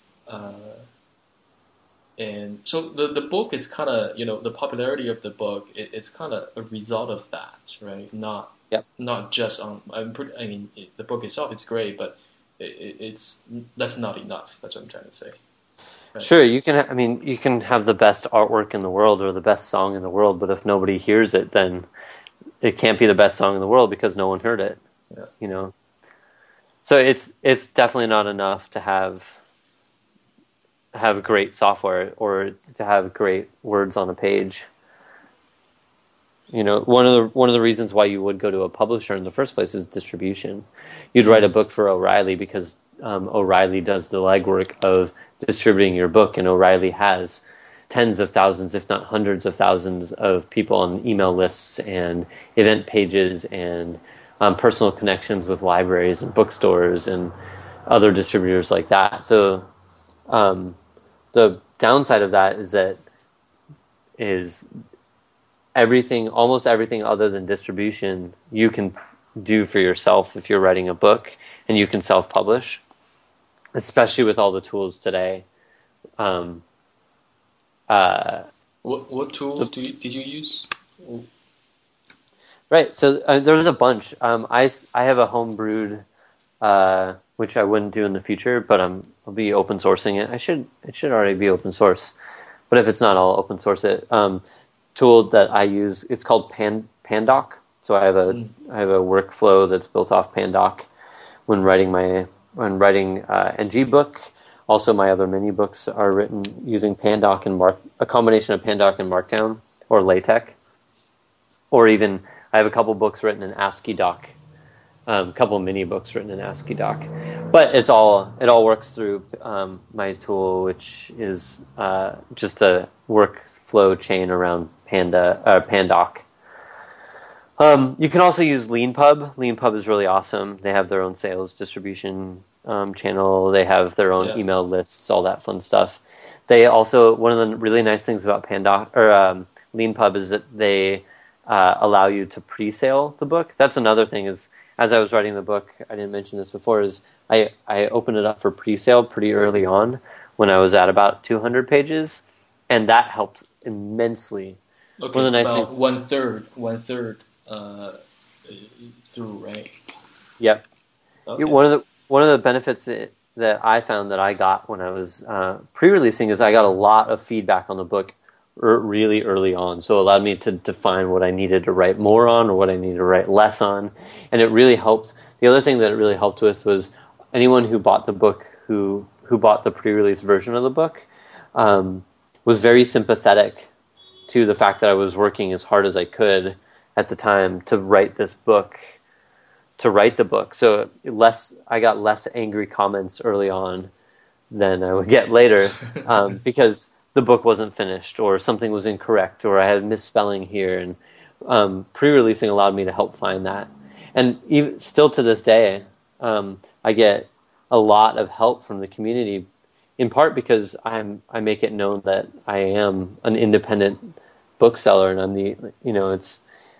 And so the book is kind of, the popularity of the book, it's kind of a result of that, right? Not just on. The book itself is great, but that's not enough. That's what I'm trying to say. Right. Sure, you can have the best artwork in the world or the best song in the world, but if nobody hears it, then it can't be the best song in the world because no one heard it. Yeah. So it's definitely not enough to have great software or to have great words on a page. One of the reasons why you would go to a publisher in the first place is distribution. You'd write a book for O'Reilly because O'Reilly does the legwork of distributing your book, and O'Reilly has tens of thousands, if not hundreds of thousands, of people on email lists and event pages and personal connections with libraries and bookstores and other distributors like that. So the downside of that is almost everything other than distribution you can do for yourself if you're writing a book, and you can self-publish, especially with all the tools today. What tools did you use? Right, so there's a bunch. I have a home-brewed, which I wouldn't do in the future, but I'll be open sourcing it. It should already be open source, but if it's not, I'll open source it. Tool that I use, it's called Pandoc. So I have a workflow that's built off Pandoc when writing NG book. Also, my other mini books are written using Pandoc and a combination of Pandoc and Markdown or LaTeX, or even I have a couple books written in ASCII doc, a couple mini books written in ASCII doc. But it all works through my tool, which is just a workflow chain around Pandoc. You can also use LeanPub. LeanPub is really awesome. They have their own sales distribution channel. They have their own email lists, all that fun stuff. They also, one of the really nice things about Pandoc or LeanPub is that they allow you to pre-sale the book. That's another thing is, as I was writing the book, I didn't mention this before, is I opened it up for pre-sale pretty early on when I was at about 200 pages, and that helped immensely. Okay, one of the nice things, one third through, right? Yep. Okay. One of the benefits that I found that I got when I was pre-releasing is I got a lot of feedback on the book really early on, so it allowed me to define what I needed to write more on or what I needed to write less on, and it really helped. The other thing that it really helped with was anyone who bought the book, who bought the pre-release version of the book, was very sympathetic to the fact that I was working as hard as I could at the time to write the book. So I got less angry comments early on than I would get later, because the book wasn't finished or something was incorrect or I had misspelling here, and pre-releasing allowed me to help find that. And even still to this day, I get a lot of help from the community, in part because I make it known that I am an independent bookseller, and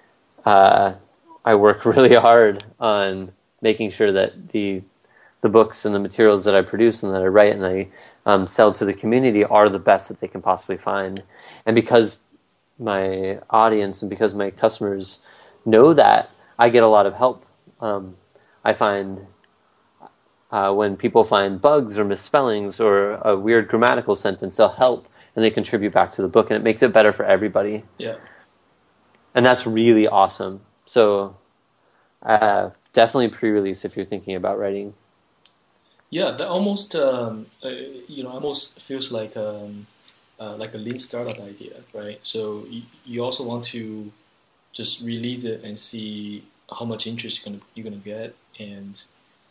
I work really hard on making sure that the books and the materials that I produce and that I write and I sell to the community are the best that they can possibly find. And because my audience and because my customers know that, I get a lot of help. I find when people find bugs or misspellings or a weird grammatical sentence, they'll help and they contribute back to the book, and it makes it better for everybody. Yeah. And that's really awesome. So definitely pre-release if you're thinking about writing. Yeah, that almost almost feels like a lean startup idea, right? So you also want to just release it and see how much interest you're gonna get. And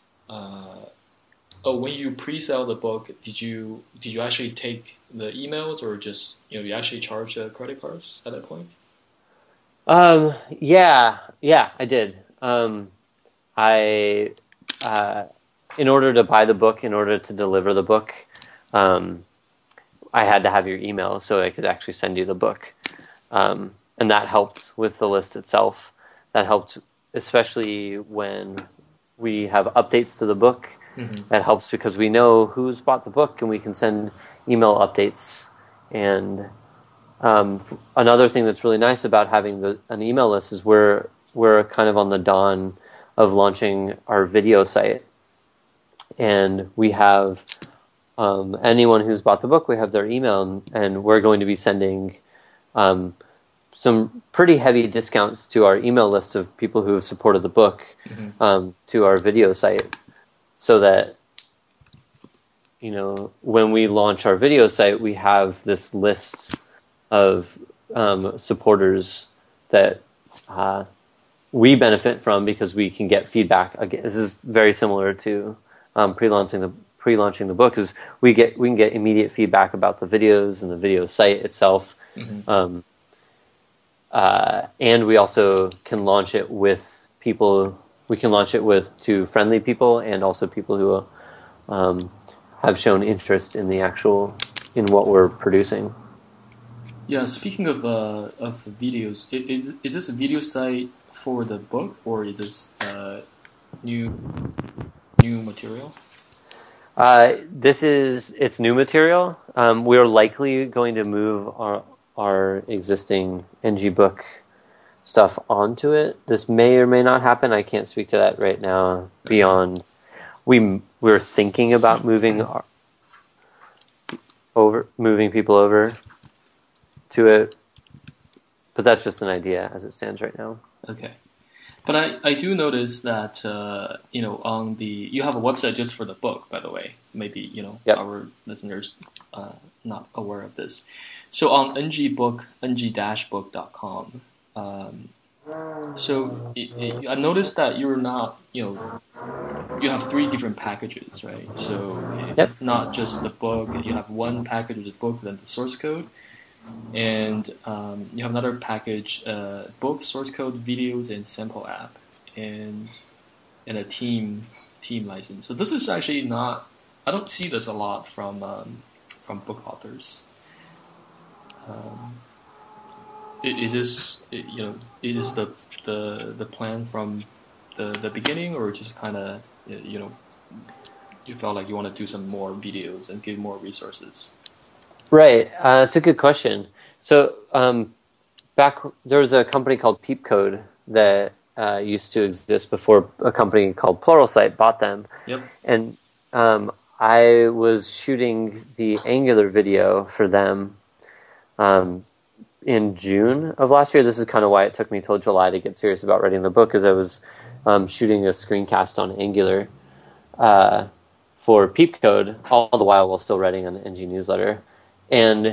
when you pre-sell the book, did you actually take the emails, or just you actually charge credit cards at that point? Yeah, I did. In order to buy the book, in order to deliver the book, I had to have your email so I could actually send you the book. And that helped with the list itself. That helped, especially when we have updates to the book. Mm-hmm. That helps because we know who's bought the book and we can send email updates. And another thing that's really nice about having an email list is we're kind of on the dawn of launching our video site. And we have anyone who's bought the book, we have their email, and we're going to be sending some pretty heavy discounts to our email list of people who have supported the book, mm-hmm. To our video site, so that when we launch our video site, we have this list of supporters that we benefit from because we can get feedback. Again, this is very similar to pre-launching the book. Is we can get immediate feedback about the videos and the video site itself, mm-hmm. And we also can launch it with people. We can launch it to friendly people and also people who have shown interest in in what we're producing. Yeah, speaking of videos, is this a video site for the book, or is this new material? It's new material. We're likely going to move our existing NG book stuff onto it. This may or may not happen. I can't speak to that right now. Beyond, we're thinking about moving people over to it, but that's just an idea as it stands right now. Okay. But I do notice that on you have a website just for the book, by the way. Maybe yep. Our listeners not aware of this. So on ng-book.com. So I noticed that you're not you have 3 different packages, right? So it's yep. not just the book. You have one package with the book, then the source code. And you have another package, book, source code, videos, and sample app, and a team license. So this is actually not. I don't see this a lot from book authors. Is this is the plan from the beginning, or just kind of you felt like you want to do some more videos and give more resources? Right. That's a good question. So there was a company called Peepcode that used to exist before a company called Pluralsight bought them. Yep. And I was shooting the Angular video for them in June of last year. This is kind of why it took me till July to get serious about writing the book, because I was shooting a screencast on Angular for Peepcode, all the while still writing an NG newsletter. And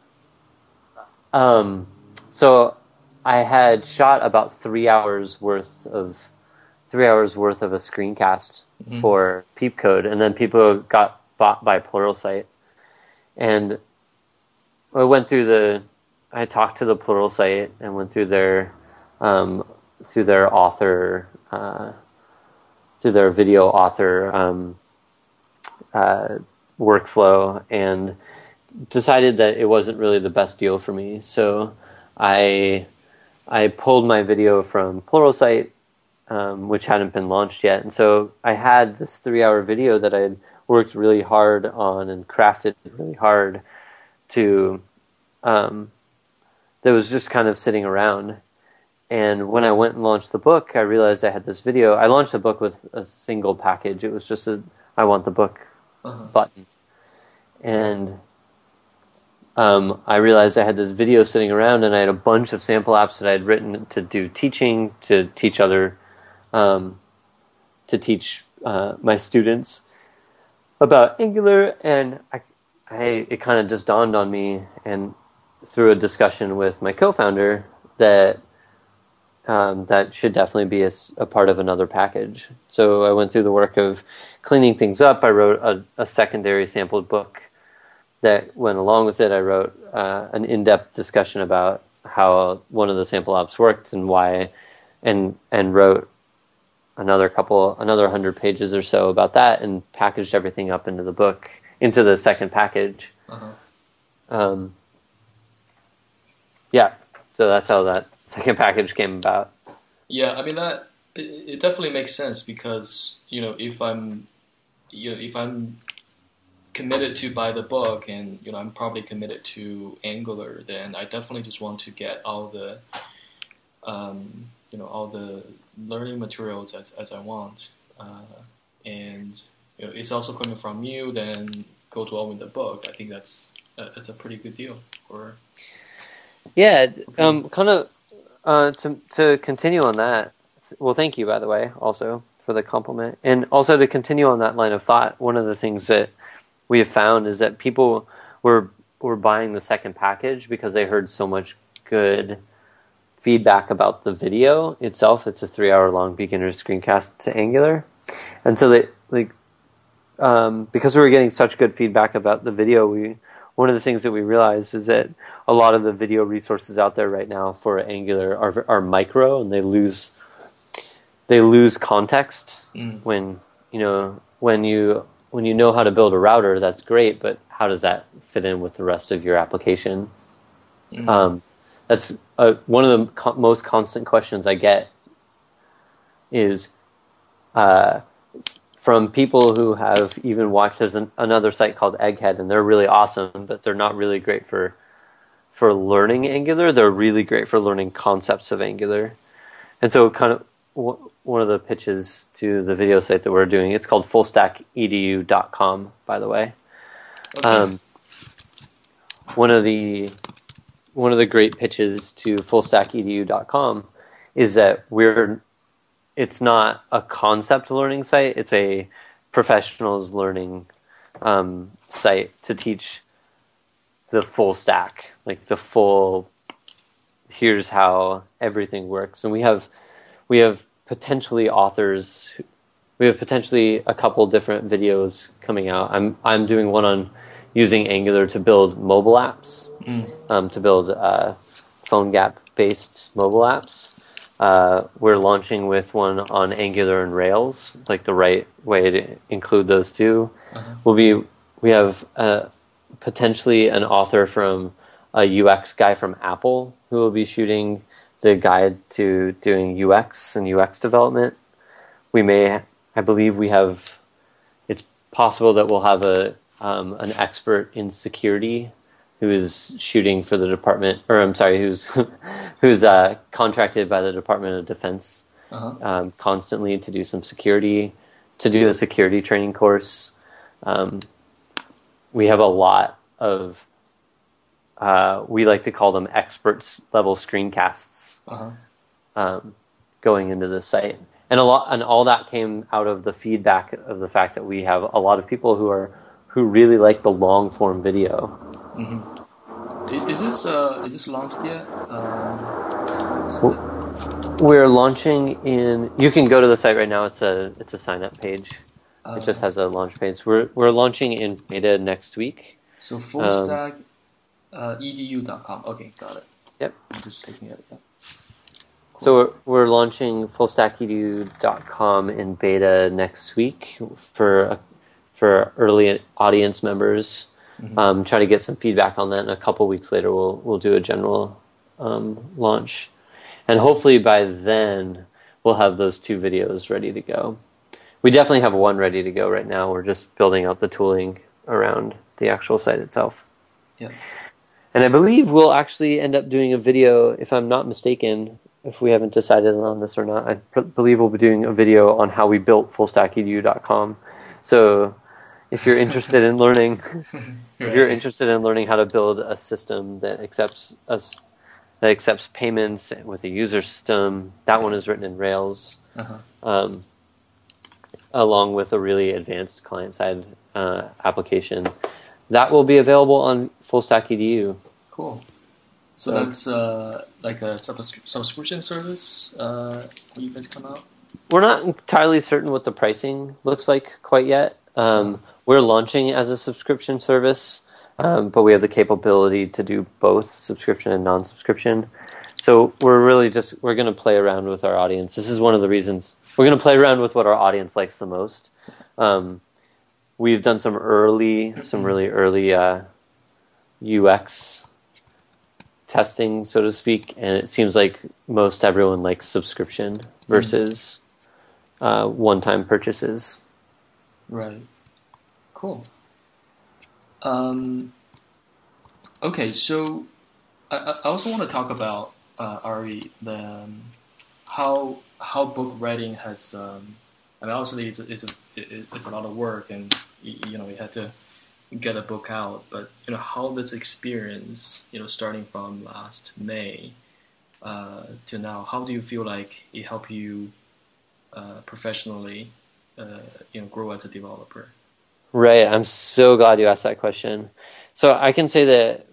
so I had shot about 3 hours worth of a screencast mm-hmm. for Peepcode, and then people got bought by Pluralsight. And I talked to the Pluralsight and went through their author, through their video author workflow, and decided that it wasn't really the best deal for me. So I pulled my video from Pluralsight, which hadn't been launched yet. And so I had this 3-hour video that I had worked really hard on and crafted really hard to, that was just kind of sitting around. And when I went and launched the book, I realized I had this video. I launched the book with a single package. It was just a I want the book button. And I realized I had this video sitting around, and I had a bunch of sample apps that I had written to do teaching, to teach my students about Angular, and it kind of just dawned on me, and through a discussion with my co-founder, that that should definitely be a part of another package. So I went through the work of cleaning things up. I wrote a secondary sampled book that went along with it. I wrote an in-depth discussion about how one of the sample apps worked and why, and wrote another 100 pages or so about that, and packaged everything up into the book, into the second package. Yeah, so that's how that second package came about. Yeah, I mean it definitely makes sense, because if I'm committed to buy the book, and I'm probably committed to Angular, then I definitely just want to get all the all the learning materials as I want, and it's also coming from you, then go to all with the book. I think that's a pretty good deal for. Yeah, kind of to continue on that. Well, thank you, by the way, also for the compliment, and also to continue on that line of thought. One of the things that we have found is that people were buying the second package because they heard so much good feedback about the video itself. It's a 3-hour-long beginner screencast to Angular, and so they because we were getting such good feedback about the video, one of the things that we realized is that a lot of the video resources out there right now for Angular are micro, and they lose context. When you know how to build a router, that's great, but how does that fit in with the rest of your application? That's one of the most constant questions I get is from people who have even watched. There's another site called Egghead, and they're really awesome, but they're not really great for learning Angular. They're really great for learning concepts of Angular. And so kind of one of the pitches to the video site that we're doing, it's called fullstackedu.com, by the way. Okay. One of the great pitches to fullstackedu.com is that it's not a concept learning site, it's a professionals learning site to teach the full stack, like the full, here's how everything works. And we have potentially authors, we have potentially a couple different videos coming out. I'm doing one on using Angular to build mobile apps, to build PhoneGap based mobile apps. We're launching with one on Angular and Rails, like the right way to include those two. We have potentially an author from a UX guy from Apple who will be shooting the guide to doing UX and UX development. I believe it's possible that we'll have an expert in security who is shooting for the department, or I'm sorry, who's contracted by the Department of Defense constantly to do a security training course. We have a lot of we like to call them experts level screencasts going into the site, and all that came out of the feedback of the fact that we have a lot of people who really like the long form video. Is this launched yet? We're launching in. You can go to the site right now. It's a sign up page. It just has a launch page. We're launching in beta next week. So fullstack edu.com. Okay, got it. Yep. I'm just looking at it. Yeah. Cool. So we're launching fullstackedu.com in beta next week for early audience members. Try to get some feedback on that, and a couple weeks later we'll do a general launch, and hopefully by then we'll have those 2 videos ready to go. We definitely have one ready to go right now. We're just building out the tooling around the actual site itself. Yeah. And I believe we'll actually end up doing a video, if I'm not mistaken, if we haven't decided on this or not. I believe we'll be doing a video on how we built fullstackedu.com So if you're interested in learning, if you're Right. interested in learning how to build a system that accepts payments with a user system, that one is written in Rails, Uh-huh. um, along with a really advanced client-side application. That will be available on FullStack EDU. Cool. So So that's like a subscription service when you guys come out? we're not entirely certain what the pricing looks like quite yet. Uh-huh. We're launching as a subscription service, but we have the capability to do both subscription and non-subscription. So we're going to play around with our audience. This is one of the reasons we're going to play around with what our audience likes the most. We've done some really early UX testing, so to speak, and it seems like most everyone likes subscription versus one-time purchases. Right. Cool. Okay, so I also want to talk about Ari, how book writing has. I mean, obviously it's a lot of work, and you know you had to get a book out. But you know how this experience, you know, starting from last May to now, how do you feel like it helped you professionally, you know, grow as a developer? Right. I'm so glad you asked that question. So I can say that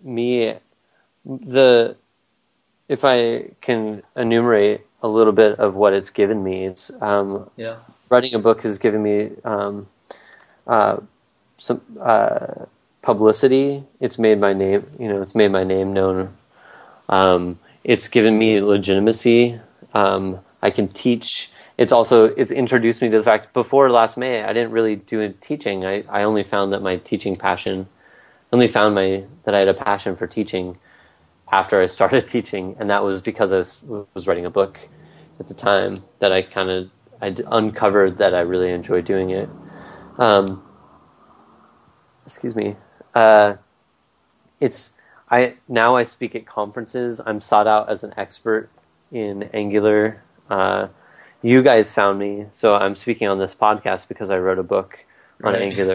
if I can enumerate a little bit of what it's given me, it's Yeah. writing a book has given me some publicity. It's made my name, it's made my name known. It's given me legitimacy. I can teach. It's introduced me to the fact before last May, I didn't really do teaching. I only found that that I had a passion for teaching after I started teaching, and that was because I was writing a book at the time that I uncovered that I really enjoyed doing it. Excuse me. Now I speak at conferences. I'm sought out as an expert in Angular. You guys found me, so I'm speaking on this podcast because I wrote a book on Right. Angular.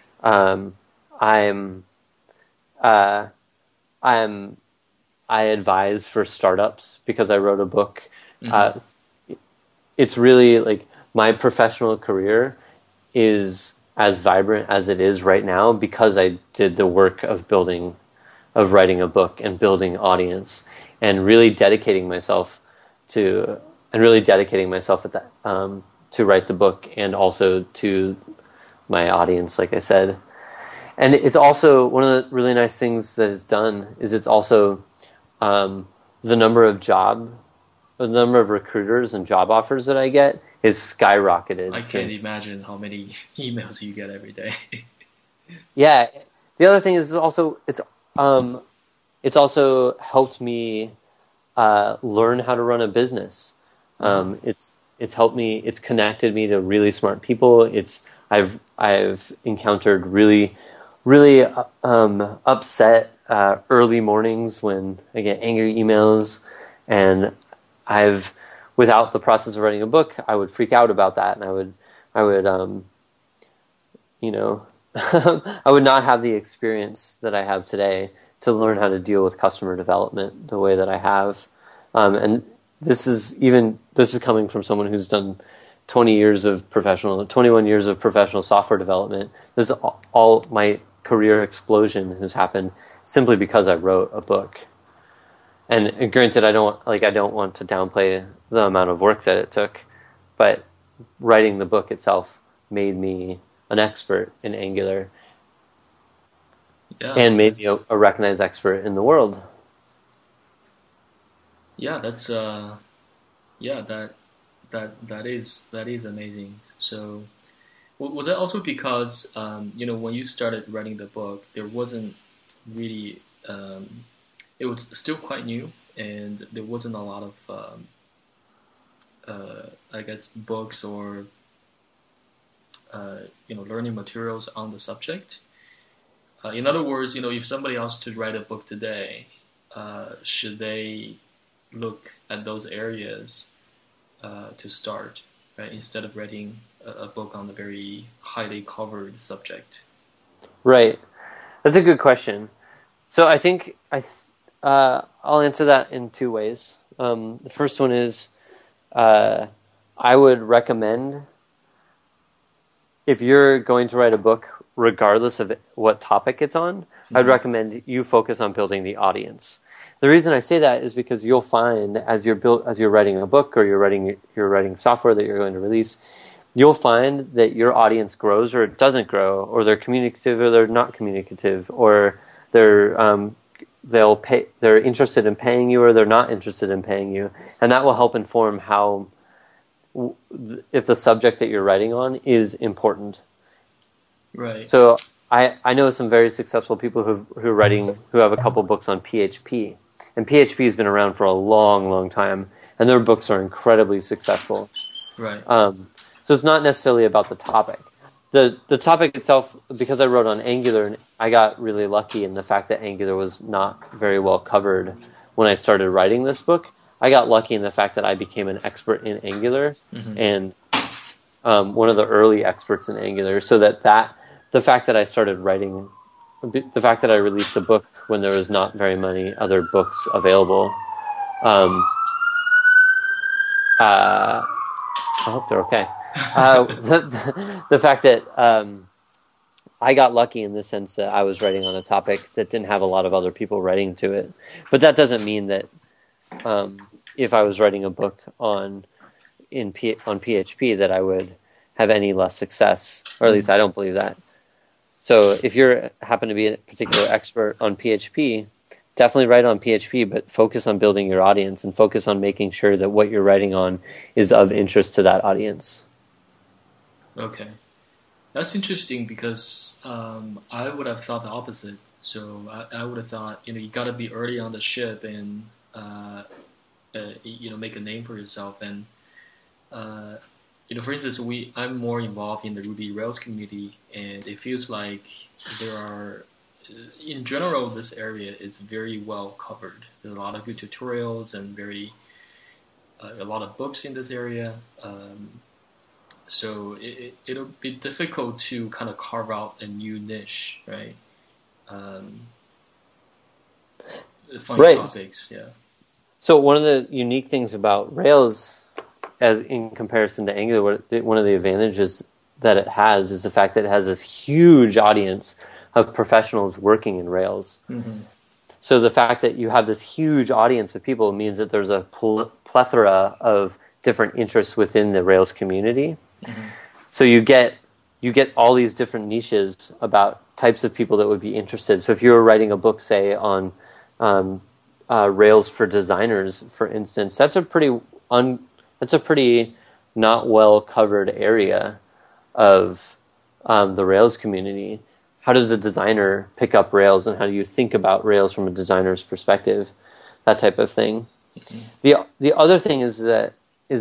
I advise for startups because I wrote a book. Mm-hmm. It's really like my professional career is as vibrant as it is right now because I did the work of writing a book and building audience and really dedicating myself to at that to write the book and also to my audience, like I said. And it's also one of the really nice things that it's done is it's also the number of recruiters and job offers that I get is skyrocketed. I can't imagine how many emails you get every day. Yeah. The other thing is it's also helped me learn how to run a business. It's helped me. It's connected me to really smart people. I've encountered really upset early mornings when I get angry emails, and without the process of writing a book, I would freak out about that, and I would I would not have the experience that I have today to learn how to deal with customer development the way that I have. And this is coming from someone who's done 21 years of professional software development. This is all my career explosion has happened simply because I wrote a book. And granted, I don't want to downplay the amount of work that it took, but writing the book itself made me an expert in Angular and made me a recognized expert in the world. Yeah, that's that is amazing. So was that also because you know when you started writing the book, there wasn't really it was still quite new, and there wasn't a lot of I guess books or you know learning materials on the subject. In other words, you know, if somebody else to write a book today, should they look at those areas to start? right? Instead of writing a book on a very highly covered subject. Right. That's a good question. So I think I'll answer that in two ways. The first one is I would recommend, if you're going to write a book, regardless of what topic it's on, I'd recommend you focus on building the audience. The reason I say that is because you'll find as you're writing a book or you're writing software that you're going to release, you'll find that your audience grows or it doesn't grow, or they're communicative or they're not communicative, or they're interested in paying you or they're not interested in paying you, and that will help inform how, if the subject that you're writing on is important. Right. So I know some very successful people who have a couple books on PHP, and PHP has been around for a long, long time, and their books are incredibly successful. Right. So it's not necessarily about the topic. The topic itself, because I wrote on Angular, and I got really lucky in the fact that Angular was not very well covered when I started writing this book. I got lucky in the fact that I became an expert in Angular, and one of the early experts in Angular, so that the fact that I started writing, the fact that I released a book when there was not very many other books available, I hope they're okay. The fact that I got lucky in the sense that I was writing on a topic that didn't have a lot of other people writing to it. But that doesn't mean that if I was writing a book on PHP that I would have any less success, or at least I don't believe that. So if you happen to be a particular expert on PHP, definitely write on PHP, but focus on building your audience and focus on making sure that what you're writing on is of interest to that audience. Okay. That's interesting because I would have thought the opposite. So I would have thought, you got to be early on the ship and, make a name for yourself. And, for instance, I'm more involved in the Ruby Rails community, and it feels like there are, in general, this area is very well covered. There's a lot of good tutorials and a lot of books in this area. So it'll be difficult to kind of carve out a new niche, right? Funny topics, yeah. So one of the unique things about Rails, as in comparison to Angular, one of the advantages that it has is the fact that it has this huge audience of professionals working in Rails. So the fact that you have this huge audience of people means that there's a plethora of different interests within the Rails community. So you get all these different niches about types of people that would be interested. So if you were writing a book, say, on Rails for designers, for instance, that's a pretty not well covered area of the Rails community. How does a designer pick up Rails, and how do you think about Rails from a designer's perspective? That type of thing. The other thing is that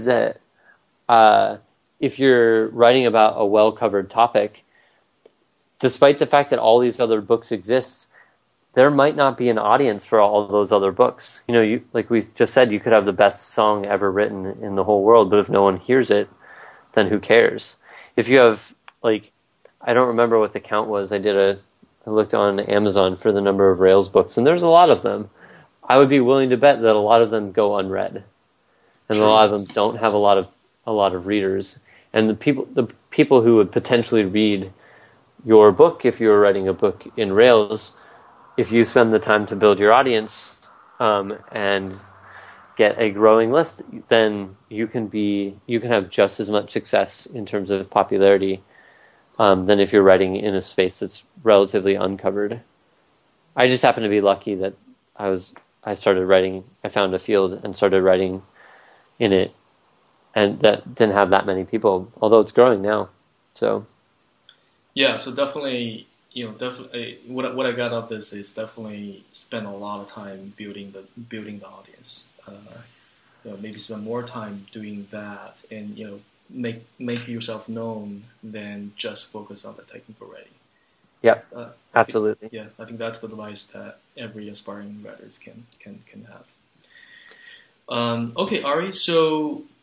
if you're writing about a well-covered topic, despite the fact that all these other books exist, there might not be an audience for all those other books. Like we just said, you could have the best song ever written in the whole world, but if no one hears it, then who cares? If you have, I don't remember what the count was. I looked on Amazon for the number of Rails books, and there's a lot of them. I would be willing to bet that a lot of them go unread, and a lot of them don't have a lot of readers. And the people who would potentially read your book, if you were writing a book in Rails, if you spend the time to build your audience and get a growing list, then you can have just as much success in terms of popularity than if you're writing in a space that's relatively uncovered. I just happen to be lucky that I started writing. I found a field and started writing in it, and that didn't have that many people, although it's growing now. So yeah, so definitely, what I got out of this is definitely spend a lot of time building the audience. Maybe spend more time doing that, and make yourself known than just focus on the technical writing. Yep, absolutely. I think that's the advice that every aspiring writers can have. Okay, Ari. So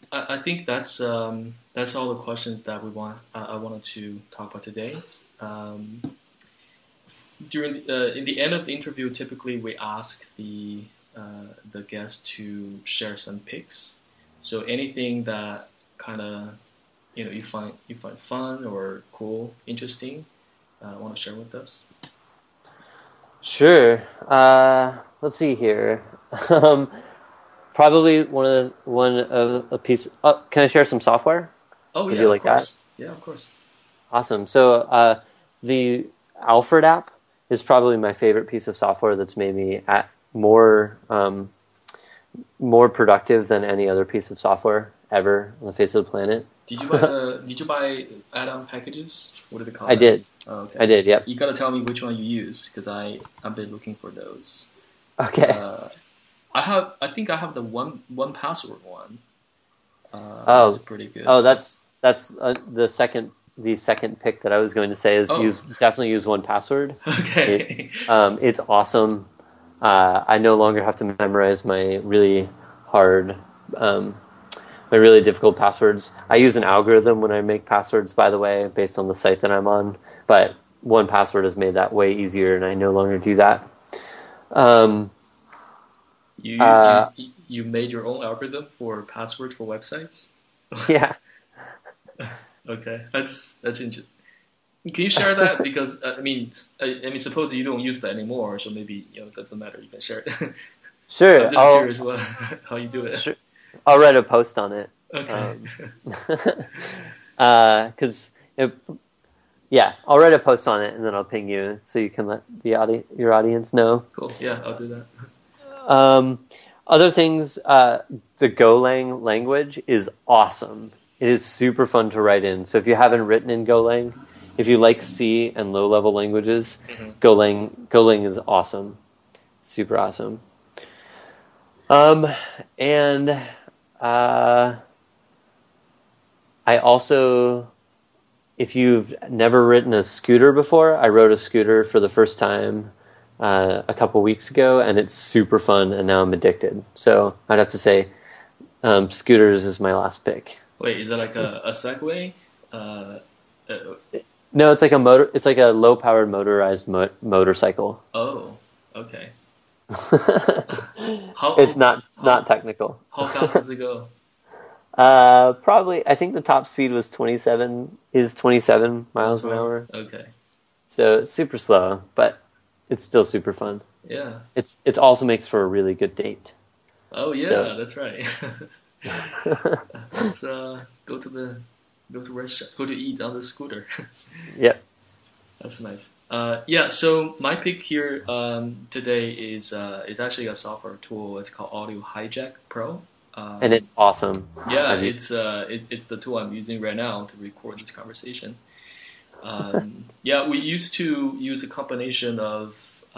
I think that's all the questions that I wanted to talk about today. Um, During in the end of the interview, typically we ask the guest to share some pics. So anything that kind of you find fun or cool, interesting, want to share with us? Sure. Let's see here. Probably one of a piece. Oh, can I share some software? Oh Would yeah, you of like that? course. Yeah, of course. Awesome. So the Alfred app is probably my favorite piece of software that's made me more productive than any other piece of software ever on the face of the planet. Did you buy add-on packages? What do they call I them? did. Oh, okay. I did. Yep. You gotta tell me which one you use because I've been looking for those. Okay. I think I have the one password one. Oh, it's pretty good. Oh, that's the second pick that I was going to say is definitely use 1Password. Okay. It's awesome. I no longer have to memorize my really hard, my really difficult passwords. I use an algorithm when I make passwords, by the way, based on the site that I'm on. But 1Password has made that way easier, and I no longer do that. You made your own algorithm for passwords for websites? Yeah. Okay, that's interesting. Can you share that? Because I mean, suppose you don't use that anymore, so maybe it doesn't matter. You can share it. Sure. I'm just curious how you do it. Sure. I'll write a post on it. Okay. Because I'll write a post on it and then I'll ping you so you can let your audience know. Cool. Yeah, I'll do that. Other things, the Golang language is awesome. It is super fun to write in. So if you haven't written in Golang, if you like C and low-level languages, Golang is awesome. Super awesome. And I also, if you've never written a scooter before, I wrote a scooter for the first time a couple weeks ago, and it's super fun, and now I'm addicted. So I'd have to say scooters is my last pick. Wait, is that like a Segway? No, it's like a motor. It's like a low-powered motorized motorcycle. Oh, okay. It's not technical. How fast does it go? Probably. I think the top speed was 27 miles an hour. Okay. So it's super slow, but it's still super fun. Yeah. It also makes for a really good date. Oh yeah, that's right. Let's go to restaurant, go to eat on the scooter. Yep. That's nice. So my pick here today is actually a software tool. It's called Audio Hijack Pro. And it's awesome. Yeah, it's the tool I'm using right now to record this conversation. We used to use a combination of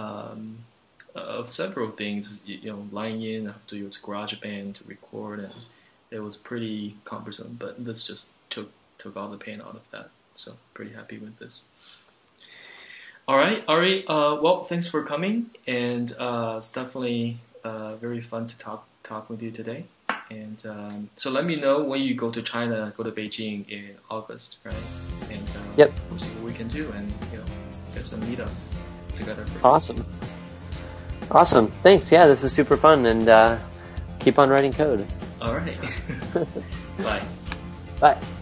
several things. Line in, I have to use GarageBand to record, and it was pretty cumbersome. But this just took all the pain out of that. So pretty happy with this. All right, Ari. Well, thanks for coming, and it's definitely very fun to talk with you today. And so let me know when you go to China, go to Beijing in August, right? And we'll see what we can do, and get some meetup together. Awesome. Thanks. Yeah, this is super fun, and keep on writing code. All right. Bye. Bye.